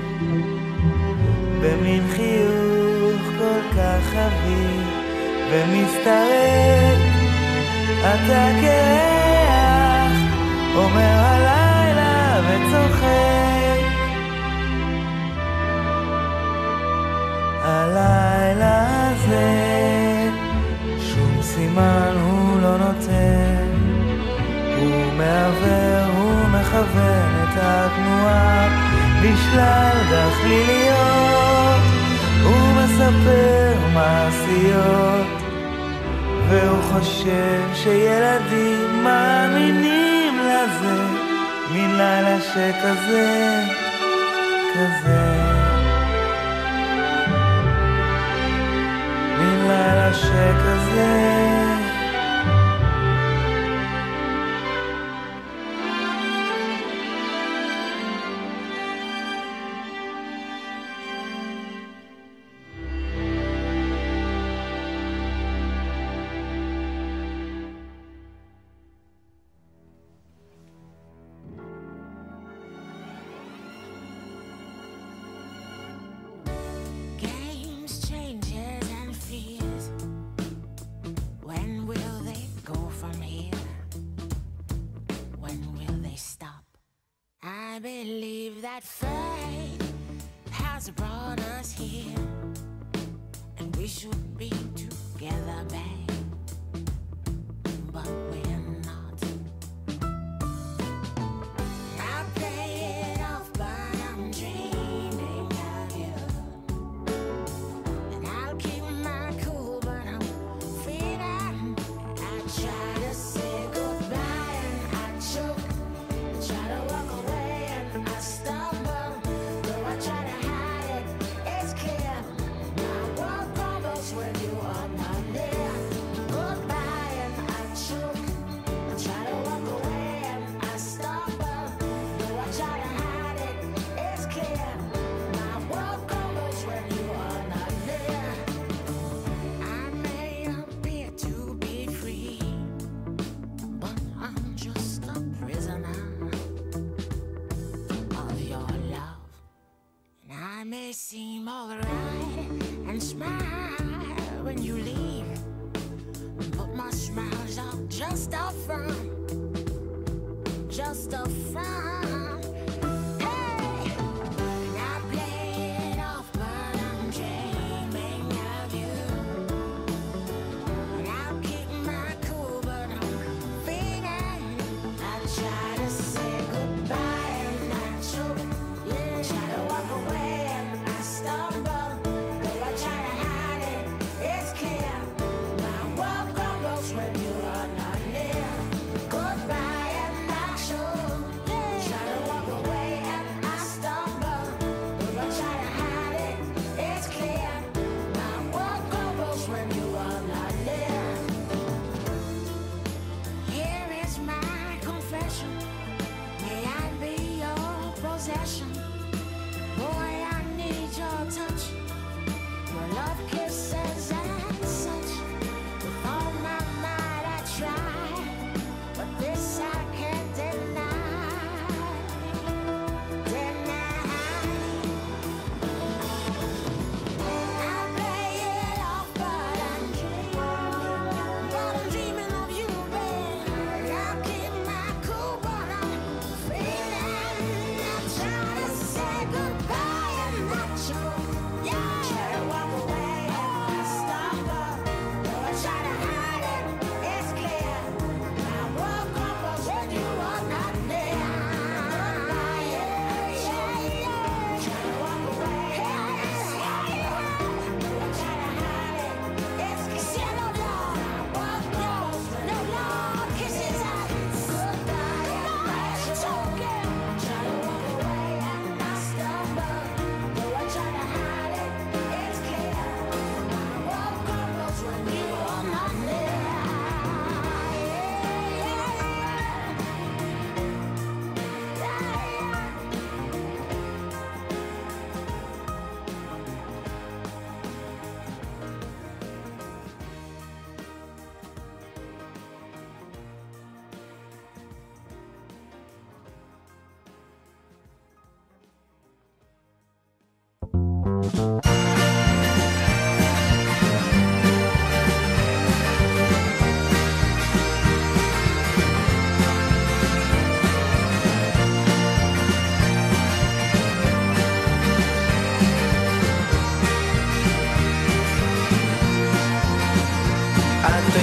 במין חיוך כל כך חביב ומסתרק אתה כרח אומר הלילה וצוחק הלילה הזה שום סימן הוא לא נותן הוא מעבר, הוא מכוון את התנועה בשלל גחליליות הוא מספר מעשיות והוא חושב שילדים מאמינים לזה מן לילה שכזה כזה מן לילה שכזה I believe that fate has brought us here, and we should be together, babe. But we're not. I play it off, but I'm dreaming of you, and I'll keep my cool, but I'm feeling. I try to say goodbye and I choke. I try to walk away. I stumble, though I try to hide it, it's clear. My world crumbles when you are not there. Goodbye and I choke. I try to walk away and I stumble, though I try to hide it, it's clear. My world crumbles when you are not there. I may appear to be free, but I'm just a prisoner of your love. And I may seem alright and smile when you leave, but my smiles are just a front, just a front. Hey, and I play it off, but I'm dreaming of you, and I'll keep my cool, but I'm feeling. I try to say goodbye and I choke. Yeah, try to walk away and I stumble, though I try to hide it, it's clear. My world crumbles when you are not near. Goodbye and I choke. Yeah, try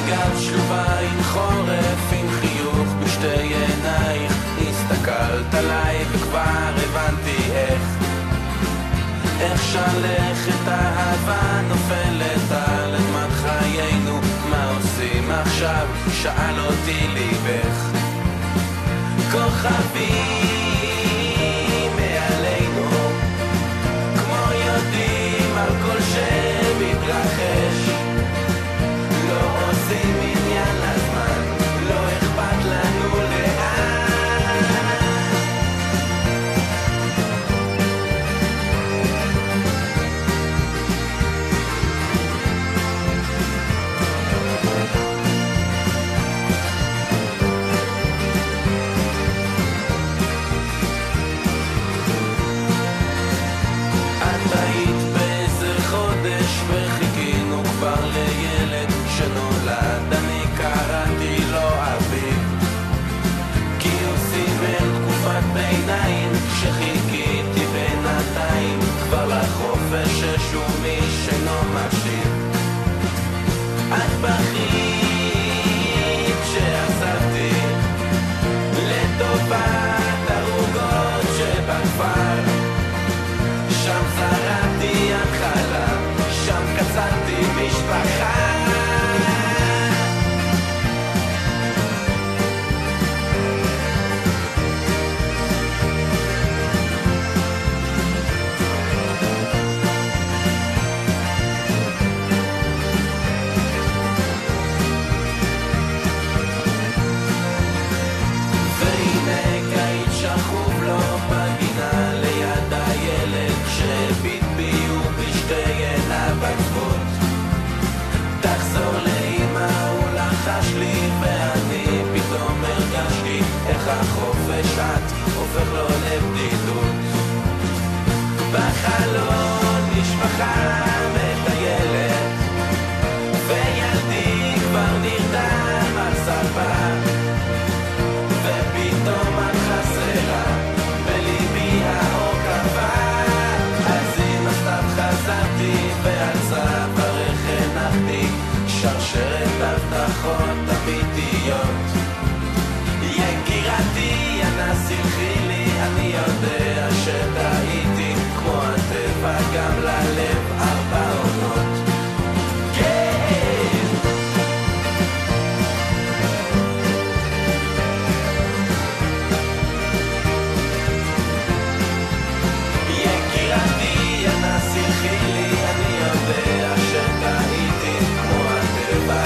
הגעת שלובה עם חורף, עם חיוך בשתי עינייך, הסתכלת עליי וכבר הבנתי איך איך שלכת אהבה נופלת על אדמת חיינו, מה עושים עכשיו? שאל אותי ליבך. כוכבים מעלינו, כמו יודעים על כל שמתרחש, לא עושים עניין לזמן, לא אכפת לנו לאן. שנולד, אני קראתי לו אביב, כי הוא סימן תקופת ביניים שחיכיתי בינתיים כבר לחופש ששום איש אינו מקשיב. את בכית שעזבתי לטובת הרוגות שבכפר, שם זרעתי התחלה, שם קצרתי משפחה. החופש את הופך לו לבדידות, בחלון משפחה מטיילת וילדי כבר נרדם על ספה, ופתאום את חסרה בליבי האור קבע. אז עם הסתיו חזרתי ועל צווארך הנחתי שרשרת הבטחות אמיתיות. יקירתי, אנא סלחי לי, אני יודע שטעיתי, כמו הטבע גם ללב ארבע עונות. כן! יקירתי, אנא סלחי לי, אני יודע שטעיתי, כמו הטבע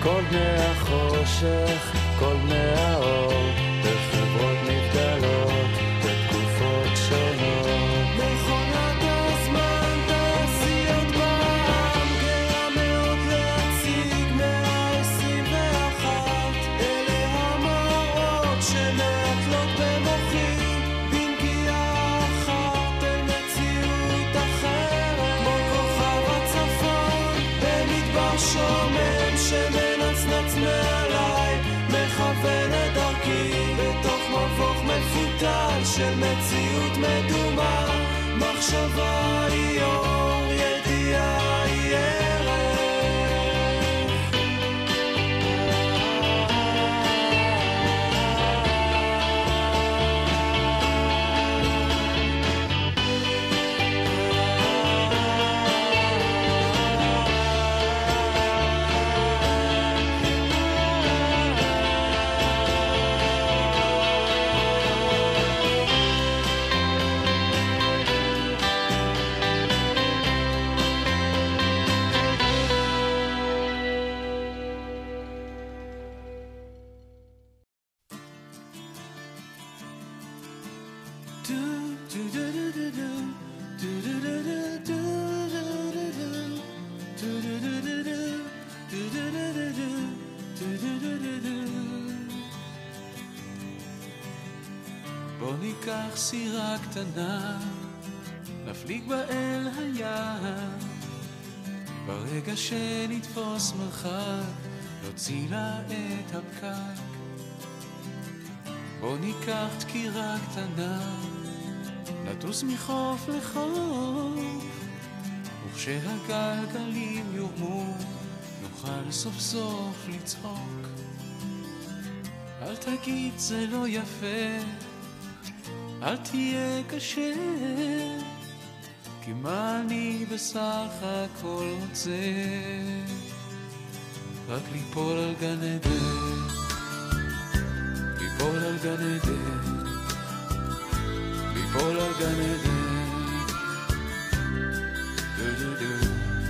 כל בני החושך, כל בני האור, בחברות נבדלות, בתקופות שונות. מכונת הזמן, תעשיות בעם, גאה מאוד להציג מאה עשרים ואחת. אלה המראות שמעטלות במוחי, בנגיעה אחת אל מציאות אחרת. כמו כוכב הצפון, במדבר שומם שמנצנץ מעליי, מכוון את דרכי בתוך מבוך מפותל של מציאות מדומה. מחשבה היא אור, ידיעה היא ערך. בוא ניקח סירה קטנה, נפליג בה אל הים, ברגע שנתפוס מרחק, נוציא לה את הפקק. בוא ניקח דקירה קטנה, נטוס מחוף לחוף, וכשהגלגלים יורמו, נוכל סוף סוף לצחוק. אל תגיד זה לא יפה, אל תהיה קשה, כי מה אני בסך הכל רוצה? רק ליפול על גן עדן, ליפול על גן עדן, ליפול על גן עדן. דו דו דו.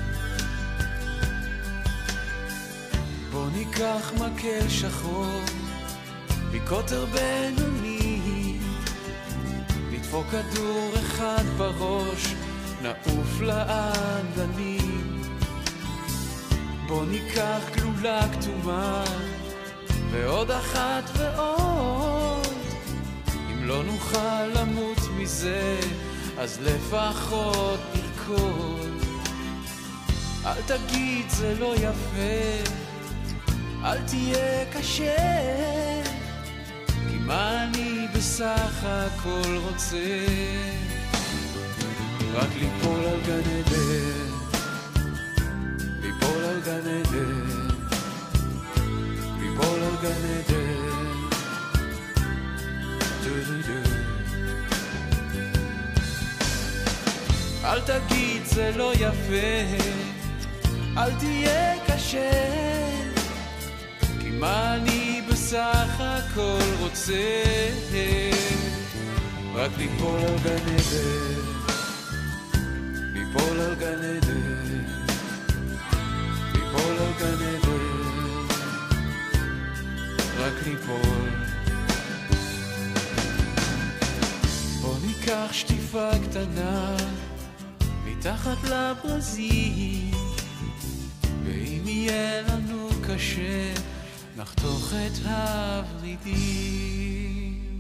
בוא ניקח מקל שחור מקוטר בינוני, נדפוק כדור אחד בראש, נעוף לאגנים. בוא ניקח גלולה כתומה ועוד אחת ועוד, אם לא נוכל למות מזה אז לפחות נרקוד. אל תגיד זה לא יפה, אל תהיה קשה, כי מה אני בסך הכל רוצה? רק ליפול על גן עדן, ליפול על גן עדן, ליפול על גן עדן. דו דו דו. אל תגיד זה לא יפה, אל תהיה קשה, כי מה אני בסך הכל רוצה? רק ליפול על גן עדן, ליפול על גן עדן, ליפול על גן עדן, רק ליפול. בוא ניקח שטיפה קטנה מתחת לברזים, ואם יהיה לנו קשה נחתוך את הוורידים.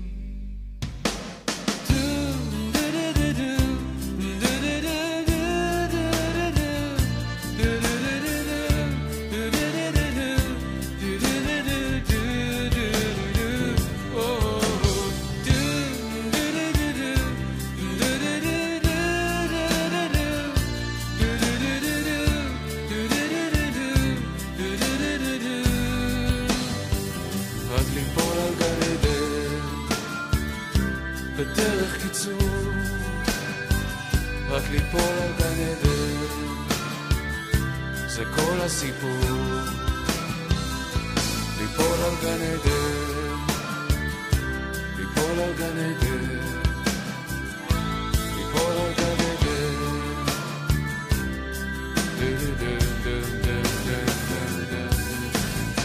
בדרך קיצור, רק ליפול על גן עדן, זה כל הסיפור. ליפול על גן עדן, ליפול על גן עדן, ליפול על גן עדן. דו דו דו דו דו דו דו.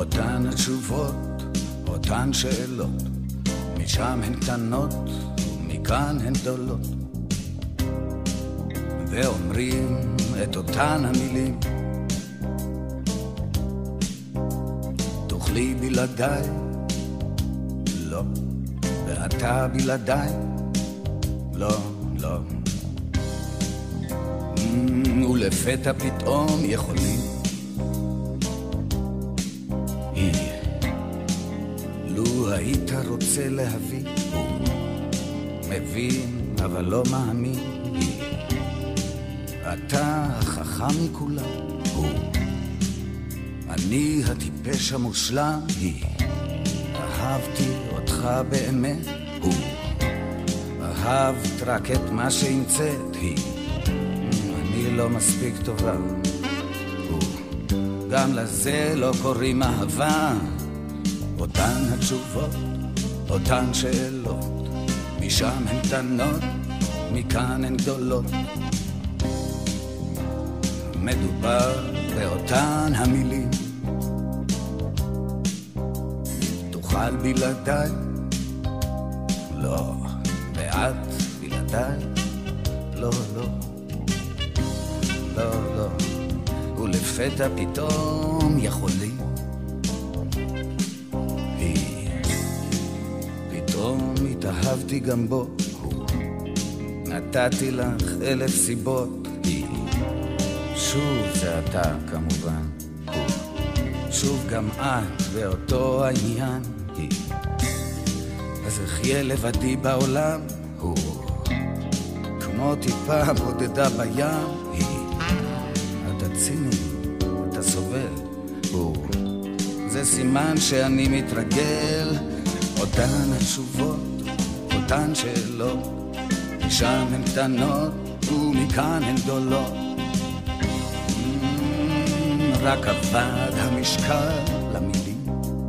אותן התשובות, אותן שאלות, משם הן קטנות ומכאן הן גדולות, ואומרים את אותן המילים. תוכלי בלעדיי, לא, ואתה בלעדיי, לא, לא. Mm, ולפתע פתאום יכולים. היא, לו היית רוצה להביא, הוא מבין אבל לא מאמין. היא, אתה החכם מכולם, הוא, אני הטיפש המושלם. היא, אהבתי אותך באמת, הוא, אהבת רק את מה שהמצאת. היא, אני לא מספיק טובה, הוא, גם לזה לא קוראים אהבה. אותן התשובות, אותן שאלות, משם הן קטנות, מכאן הן גדולות. מדובר באותן המילים. תוכל בלעדיי, לא, ואת בלעדיי, לא, לא, לא, לא. ולפתע פתאום יכולים. היא, פתאום התאהבתי גם בו, הוא, נתתי לך אלף סיבות. היא, שוב זה אתה כמובן, הוא, שוב גם את ואותו העניין. היא, אז אחיה לבדי בעולם, הוא, כמו טיפה בודדה בים. היא, אתה ציני, אתה סובל, הוא, זה סימן שאני מתרגל. אותן התשובות, אותן שאלות, משם הן קטנות ומכאן הן גדולות. רק עבד המשקל למילים.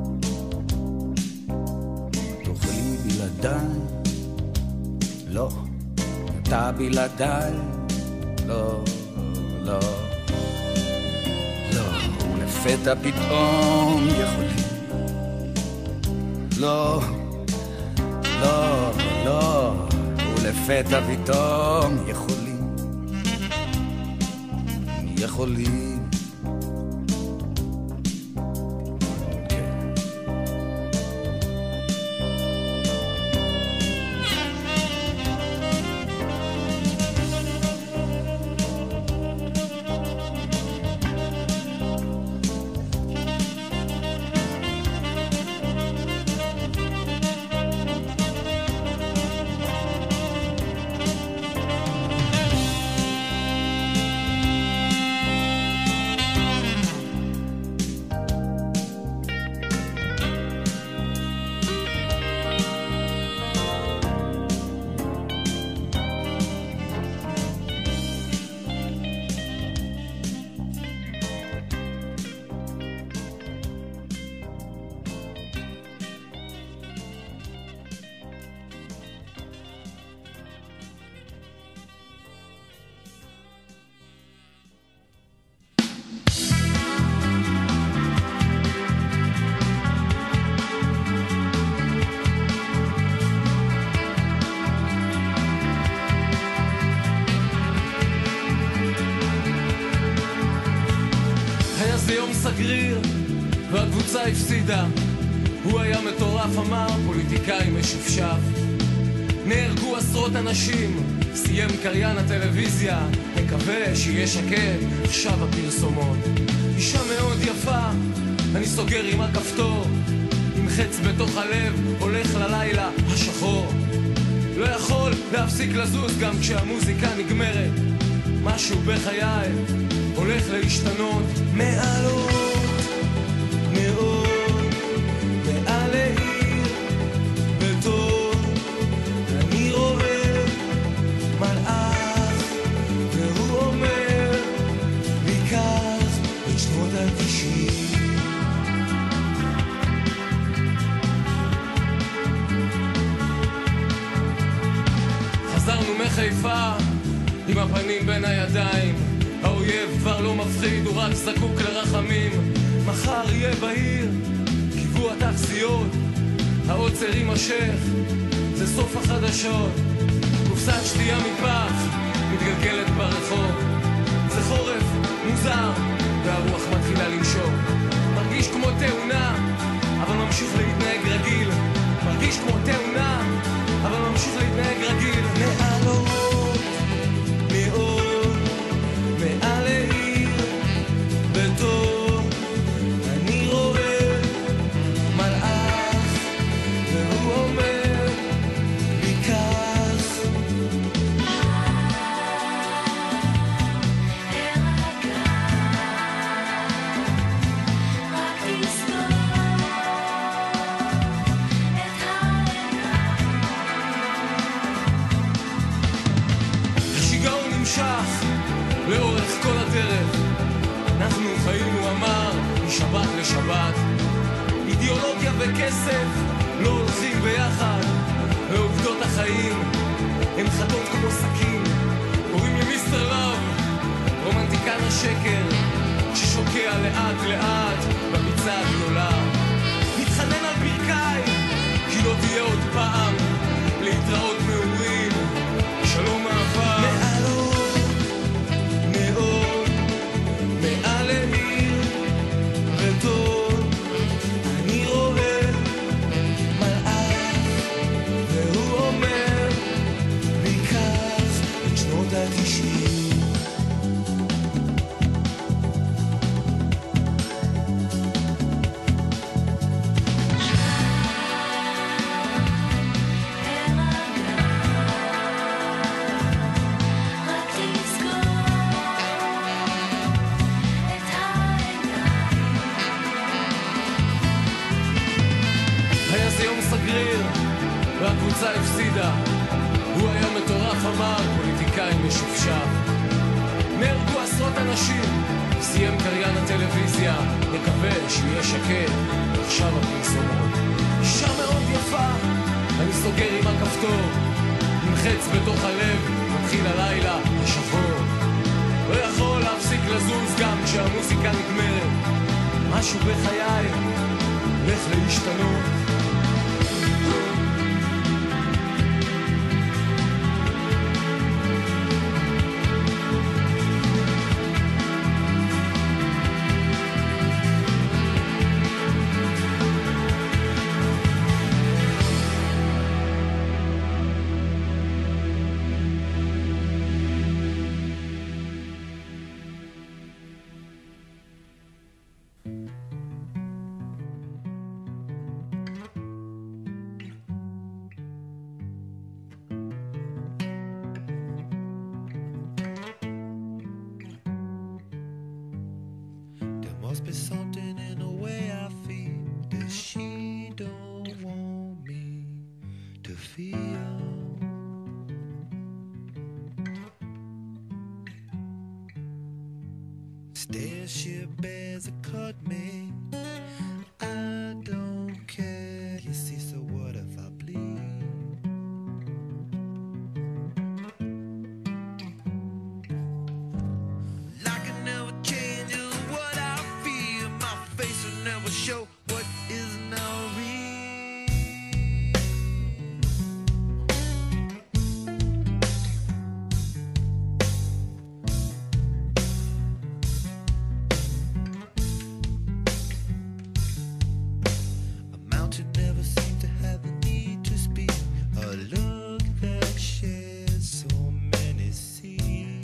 תוכלי בלעדיי, לא, אתה בלעדיי, לא, לא, לא. ולפתע פתאום יכולים. לא, לא, לא. ולפתע פתאום יכולים, יכולים. סגריר והקבוצה הפסידה. הוא היה מטורף, אמר פוליטיקאי משופשף. נהרגו עשרות אנשים, סיים קריין הטלוויזיה, מקווה שיהיה שקט עכשיו הפרסומות. אישה מאוד יפה, אני סוגר עם הכפתור, עם חץ בתוך הלב, הולך ללילה השחור. לא יכול להפסיק לזוז גם כשהמוזיקה נגמרת. משהו בחיי הולך להשתנות. מעלות מאוד מעל העיר בטוב אני רואה מלאך, והוא אומר לי קח את שנות התשעים. חזרנו מחיפה עם הפנים בין הידיים, האויב כבר לא מפחיד, הוא רק זקוק לרחמים. מחר יהיה בהיר, קיוו התחזיות, העוצר יימשך, זה סוף החדשות. קופסת שתייה מפח, מתגלגלת ברחוב, זה חורף מוזר, והרוח מתחילה לנשור. מרגיש כמו תאונה, אבל ממשיך להתנהג רגיל. מרגיש כמו תאונה, אבל ממשיך להתנהג רגיל. מעל אורות, מאור, מעל העיר, בתור אני רואה מלאך, והוא אומר לי כך. לאורך כל הדרך אנחנו חיים, הוא אמר, משבת לשבת. אידיאולוגיה וכסף לא הולכים ביחד, ועובדות החיים הן חדות כמו סכין. קוראים לי מיסטר רב, רומנטיקן השקר ששוקע לאט לאט בביצה הגדולה. מתחנן על ברכיי כי לא תהיה עוד פעם, להתראות מעורים, שלום אהבה. מעל מאור, מעל העיר, בטון אני רואה מלאך, והוא אומר לי כך את שנות התשעים. והקבוצה הפסידה, הוא היה מטורף, אמר פוליטיקאי משופשף. נהרגו עשרות אנשים, סיים קריין הטלוויזיה, נקווה שיהיה שקט, עכשיו הפרסומות. אישה מאוד יפה, אני סוגר עם הכפתור, עם חץ בתוך הלב, מתחיל הלילה השחור. לא יכול להפסיק לזוז גם כשהמוזיקה נגמרת, משהו בחיי הולך להשתנות. Must be something in the way I feel that she don't want me to feel. Starship bears a cut me, I don't care. You see, so what if I bleed? I can never change what I feel. My face will never show what is now real. A mountain never seemed to have the need to speak. A look that shares so many seas.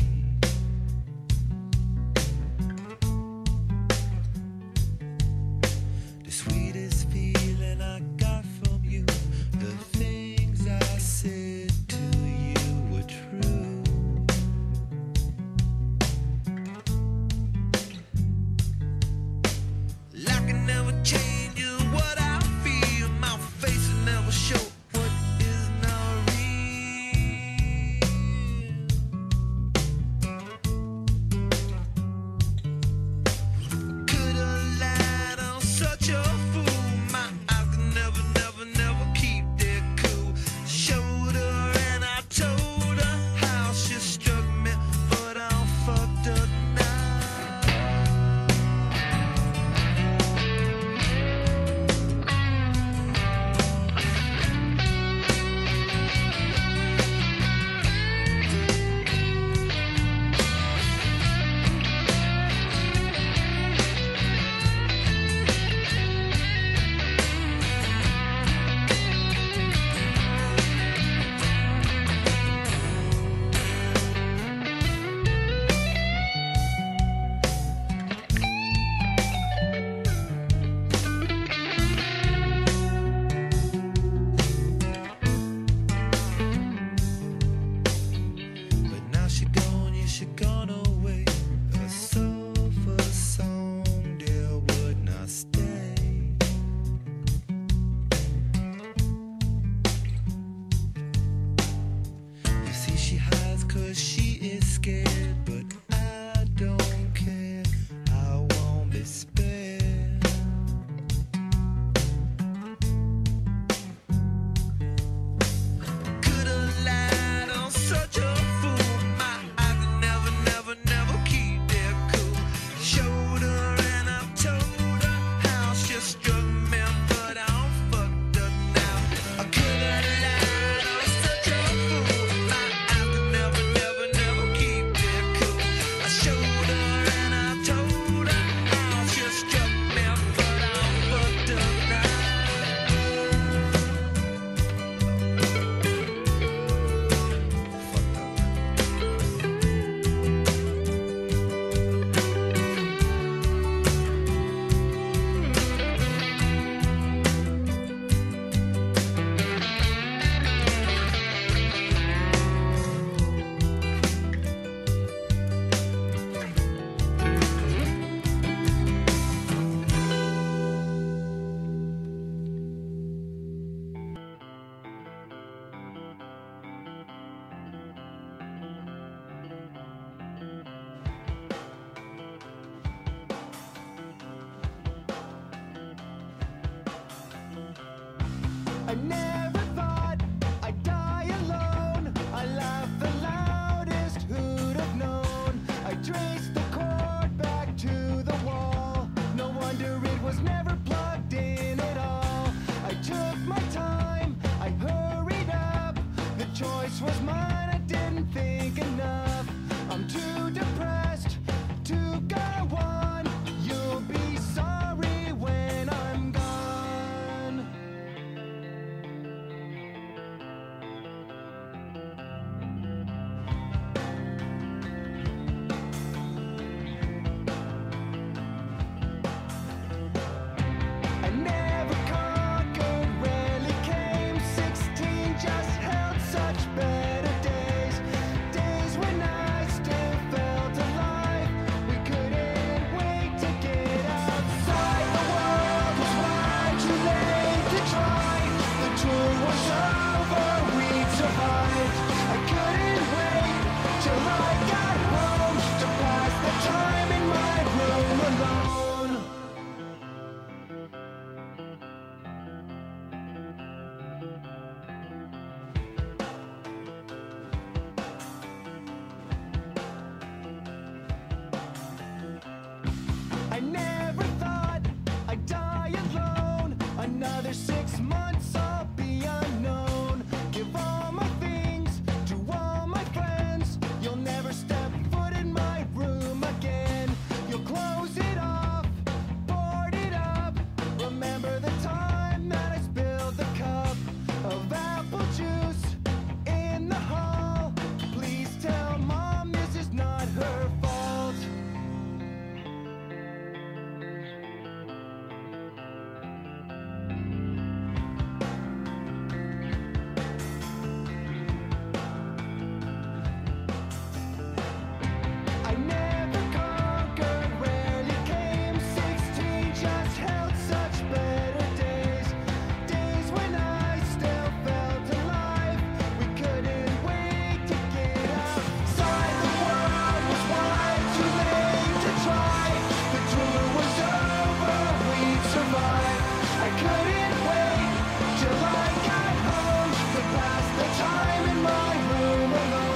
I never thought I'd die alone. I laughed the loudest, who'd have known? I traced the cord back to the wall. No wonder it was never plugged in at all. I took my time, I hurried up. The choice was mine, I didn't think enough. I'm too depressed to go on. You'll be sorry when I'm gone. I never conquered, rarely came. Sixteen just held such better days. Days when I still felt alive. We couldn't wait to get outside. The world was far too late to try. The tour was over, we'd survived. I couldn't wait till I got home to pass the time in my room alone. I never thought I'd die alone. Another six months I'll be unknown. Give all my things to all my friends. You'll never step foot in my room again. You'll close it off, board it up. Remember the time that I spilled the cup of apple juice in the hall. Please tell Mom this is not her fault. I never conquered, rarely came. Sixteen just held such better days. Days when I still felt alive. We couldn't wait to get outside. The world was wide, too late to try. The tour was over, we'd survive. I couldn't wait till I got home to pass the time in my room alone.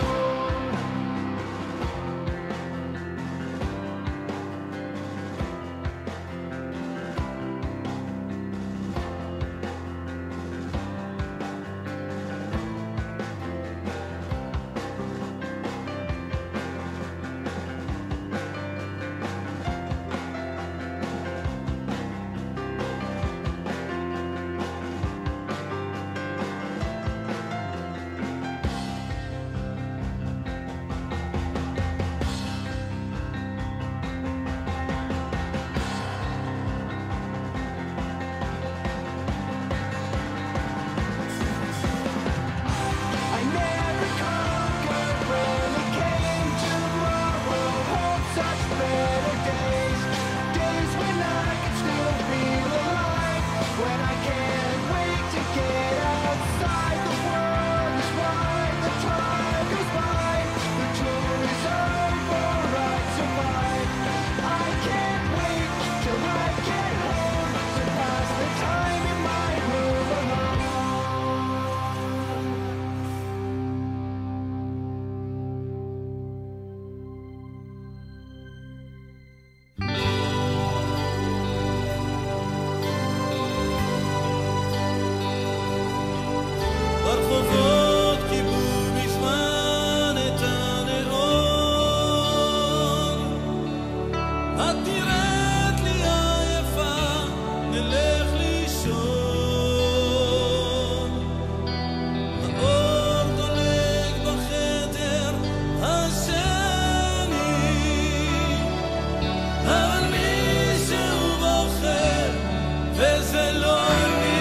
I never conquered, rarely came. Tomorrow holds such better days. Days when I can still feel alive. When I can't wait to get outside. The world is wide, the time goes by. The tour is over, I survive. I can't wait till I get home to pass the time in my room alone. ברחובות קיבלו מזמן את הנאום. את נראית לי עייפה, נלך לישון. האור דולק בחדר השני, אבל מישהו בוחר וזה לא אני.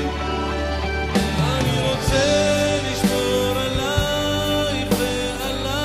אני רוצה לשמור עלייך ועליי.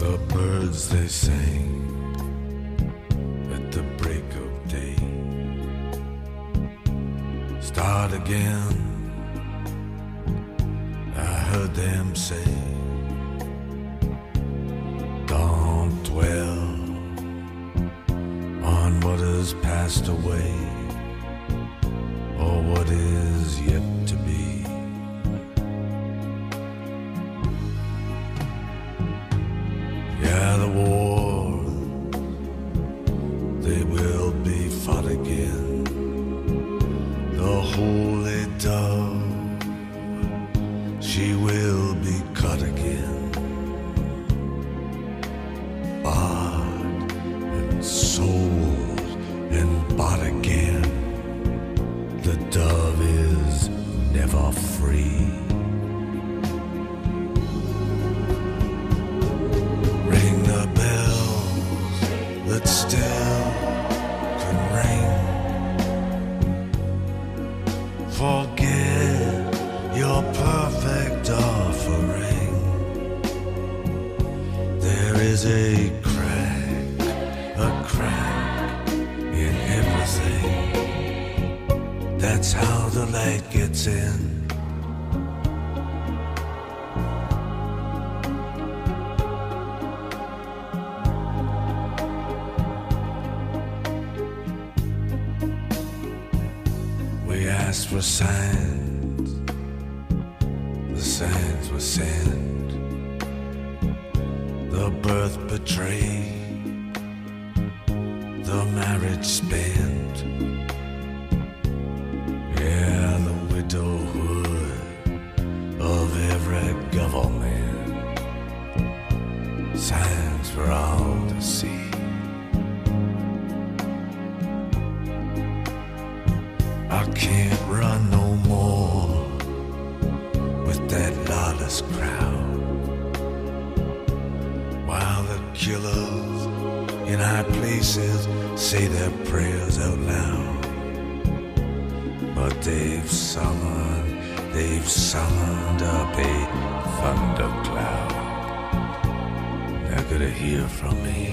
The birds they sang at the break of day. Start again, I heard them say. Don't dwell on what has passed away, or what is yet to be. Yeah, the war, they will be fought again. The holy dove, she will be cut again. Bought and sold and bought again. The dove is never free. Ring the bells that still can ring. Forget your perfect offering. There is a crack, a crack in everything. That's how the light gets in. We asked for signs, the signs were sent. The birth betrayed, the marriage spent. Yeah, the widowhood of every government. Signs for all to see. I can't run no more with that lawless crowd, while the killers in high places say their prayers out loud. But they've summoned, they've summoned up a thundercloud. They're gonna hear from me.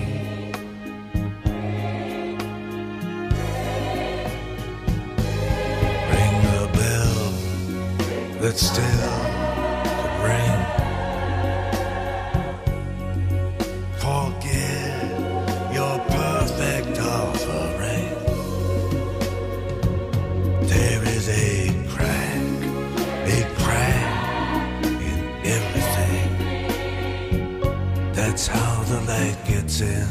Ring the bell that still could ring. Forget your perfect offering. There is a crack, a crack in everything. That's how the light gets in.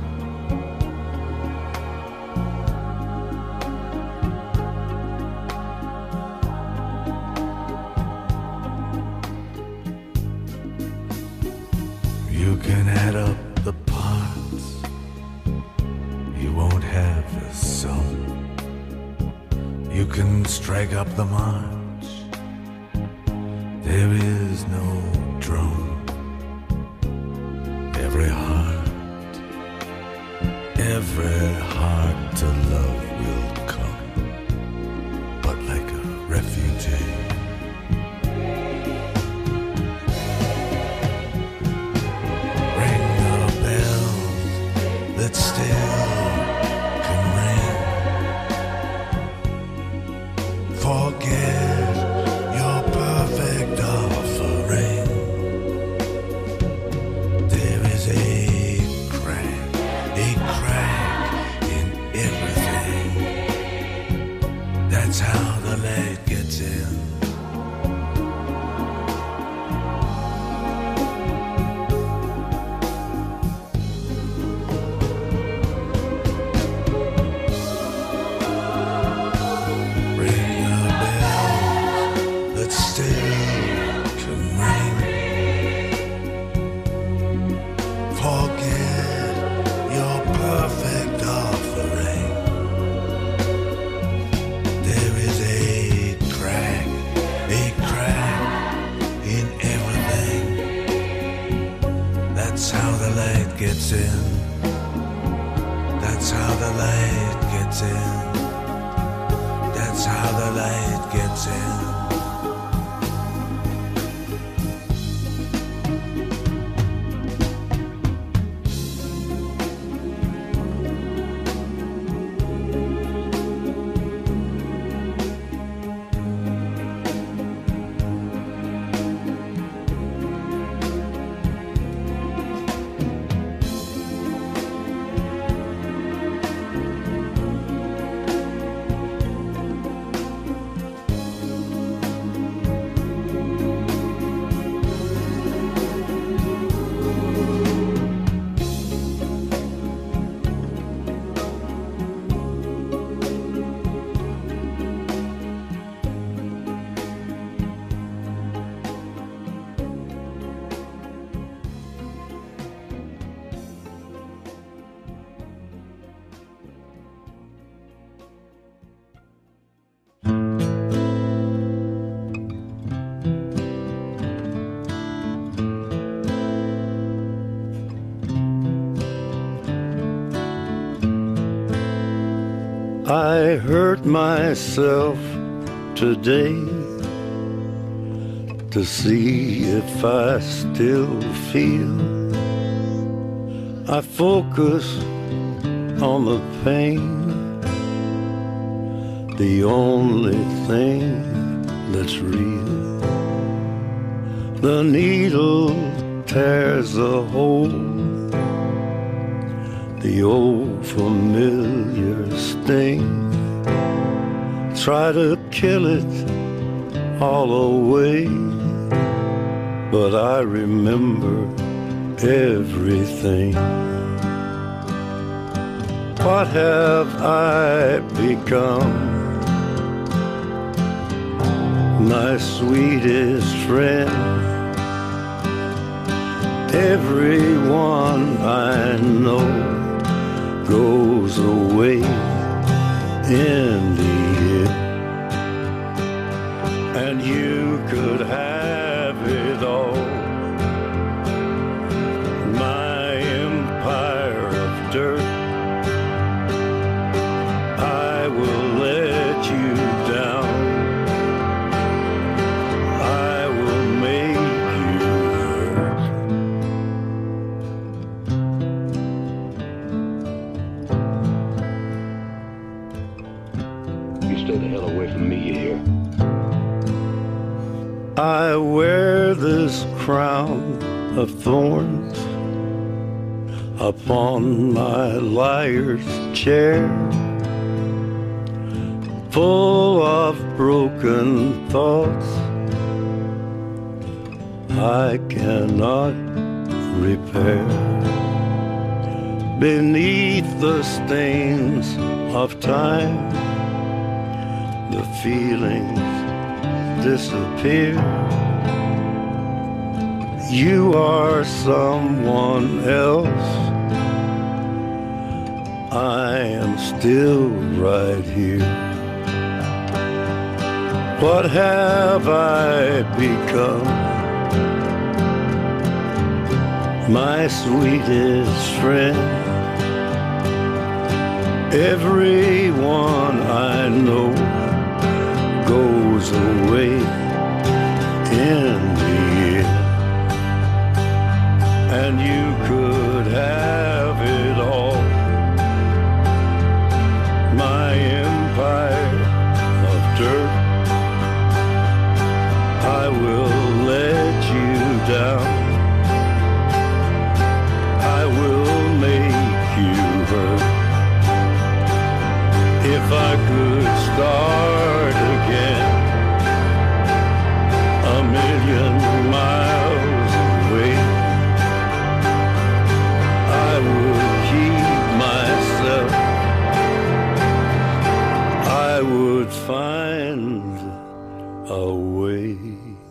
You can add up the parts, you won't have a sum. You can strike up the march, there is no drum. Every heart, every heart to love will come, but like a refugee. Ring the bells that still can ring. Forget your perfect offering. There is a crack, a crack in everything. That's how the light gets in. Ring the bells that still can ring. Forget your perfect offering. There is a crack, a crack in everything. That's how the light gets in. That's how the light gets in. That's how the light gets in. I hurt myself today to see if I still feel. I focus on the pain, the only thing that's real. The needle tears a hole, the old familiar sting. Try to kill it all away, but I remember everything. What have I become? My sweetest friend. Everyone I know goes away in the end, and you could have it all. My empire of dirt, I will let you down. I will make you hurt. You stay the hell away from me, you hear? I wear this crown of thorns upon my liar's chair, full of broken thoughts I cannot repair. Beneath the stains of time, the feelings disappear. You are someone else, I am still right here. What have I become? My sweetest friend. Everyone I know goes away in the end, and you could have it all. My empire of dirt, I will let you down. I will make you hurt. If I could start again, a million miles away, I would keep myself. I would find a way.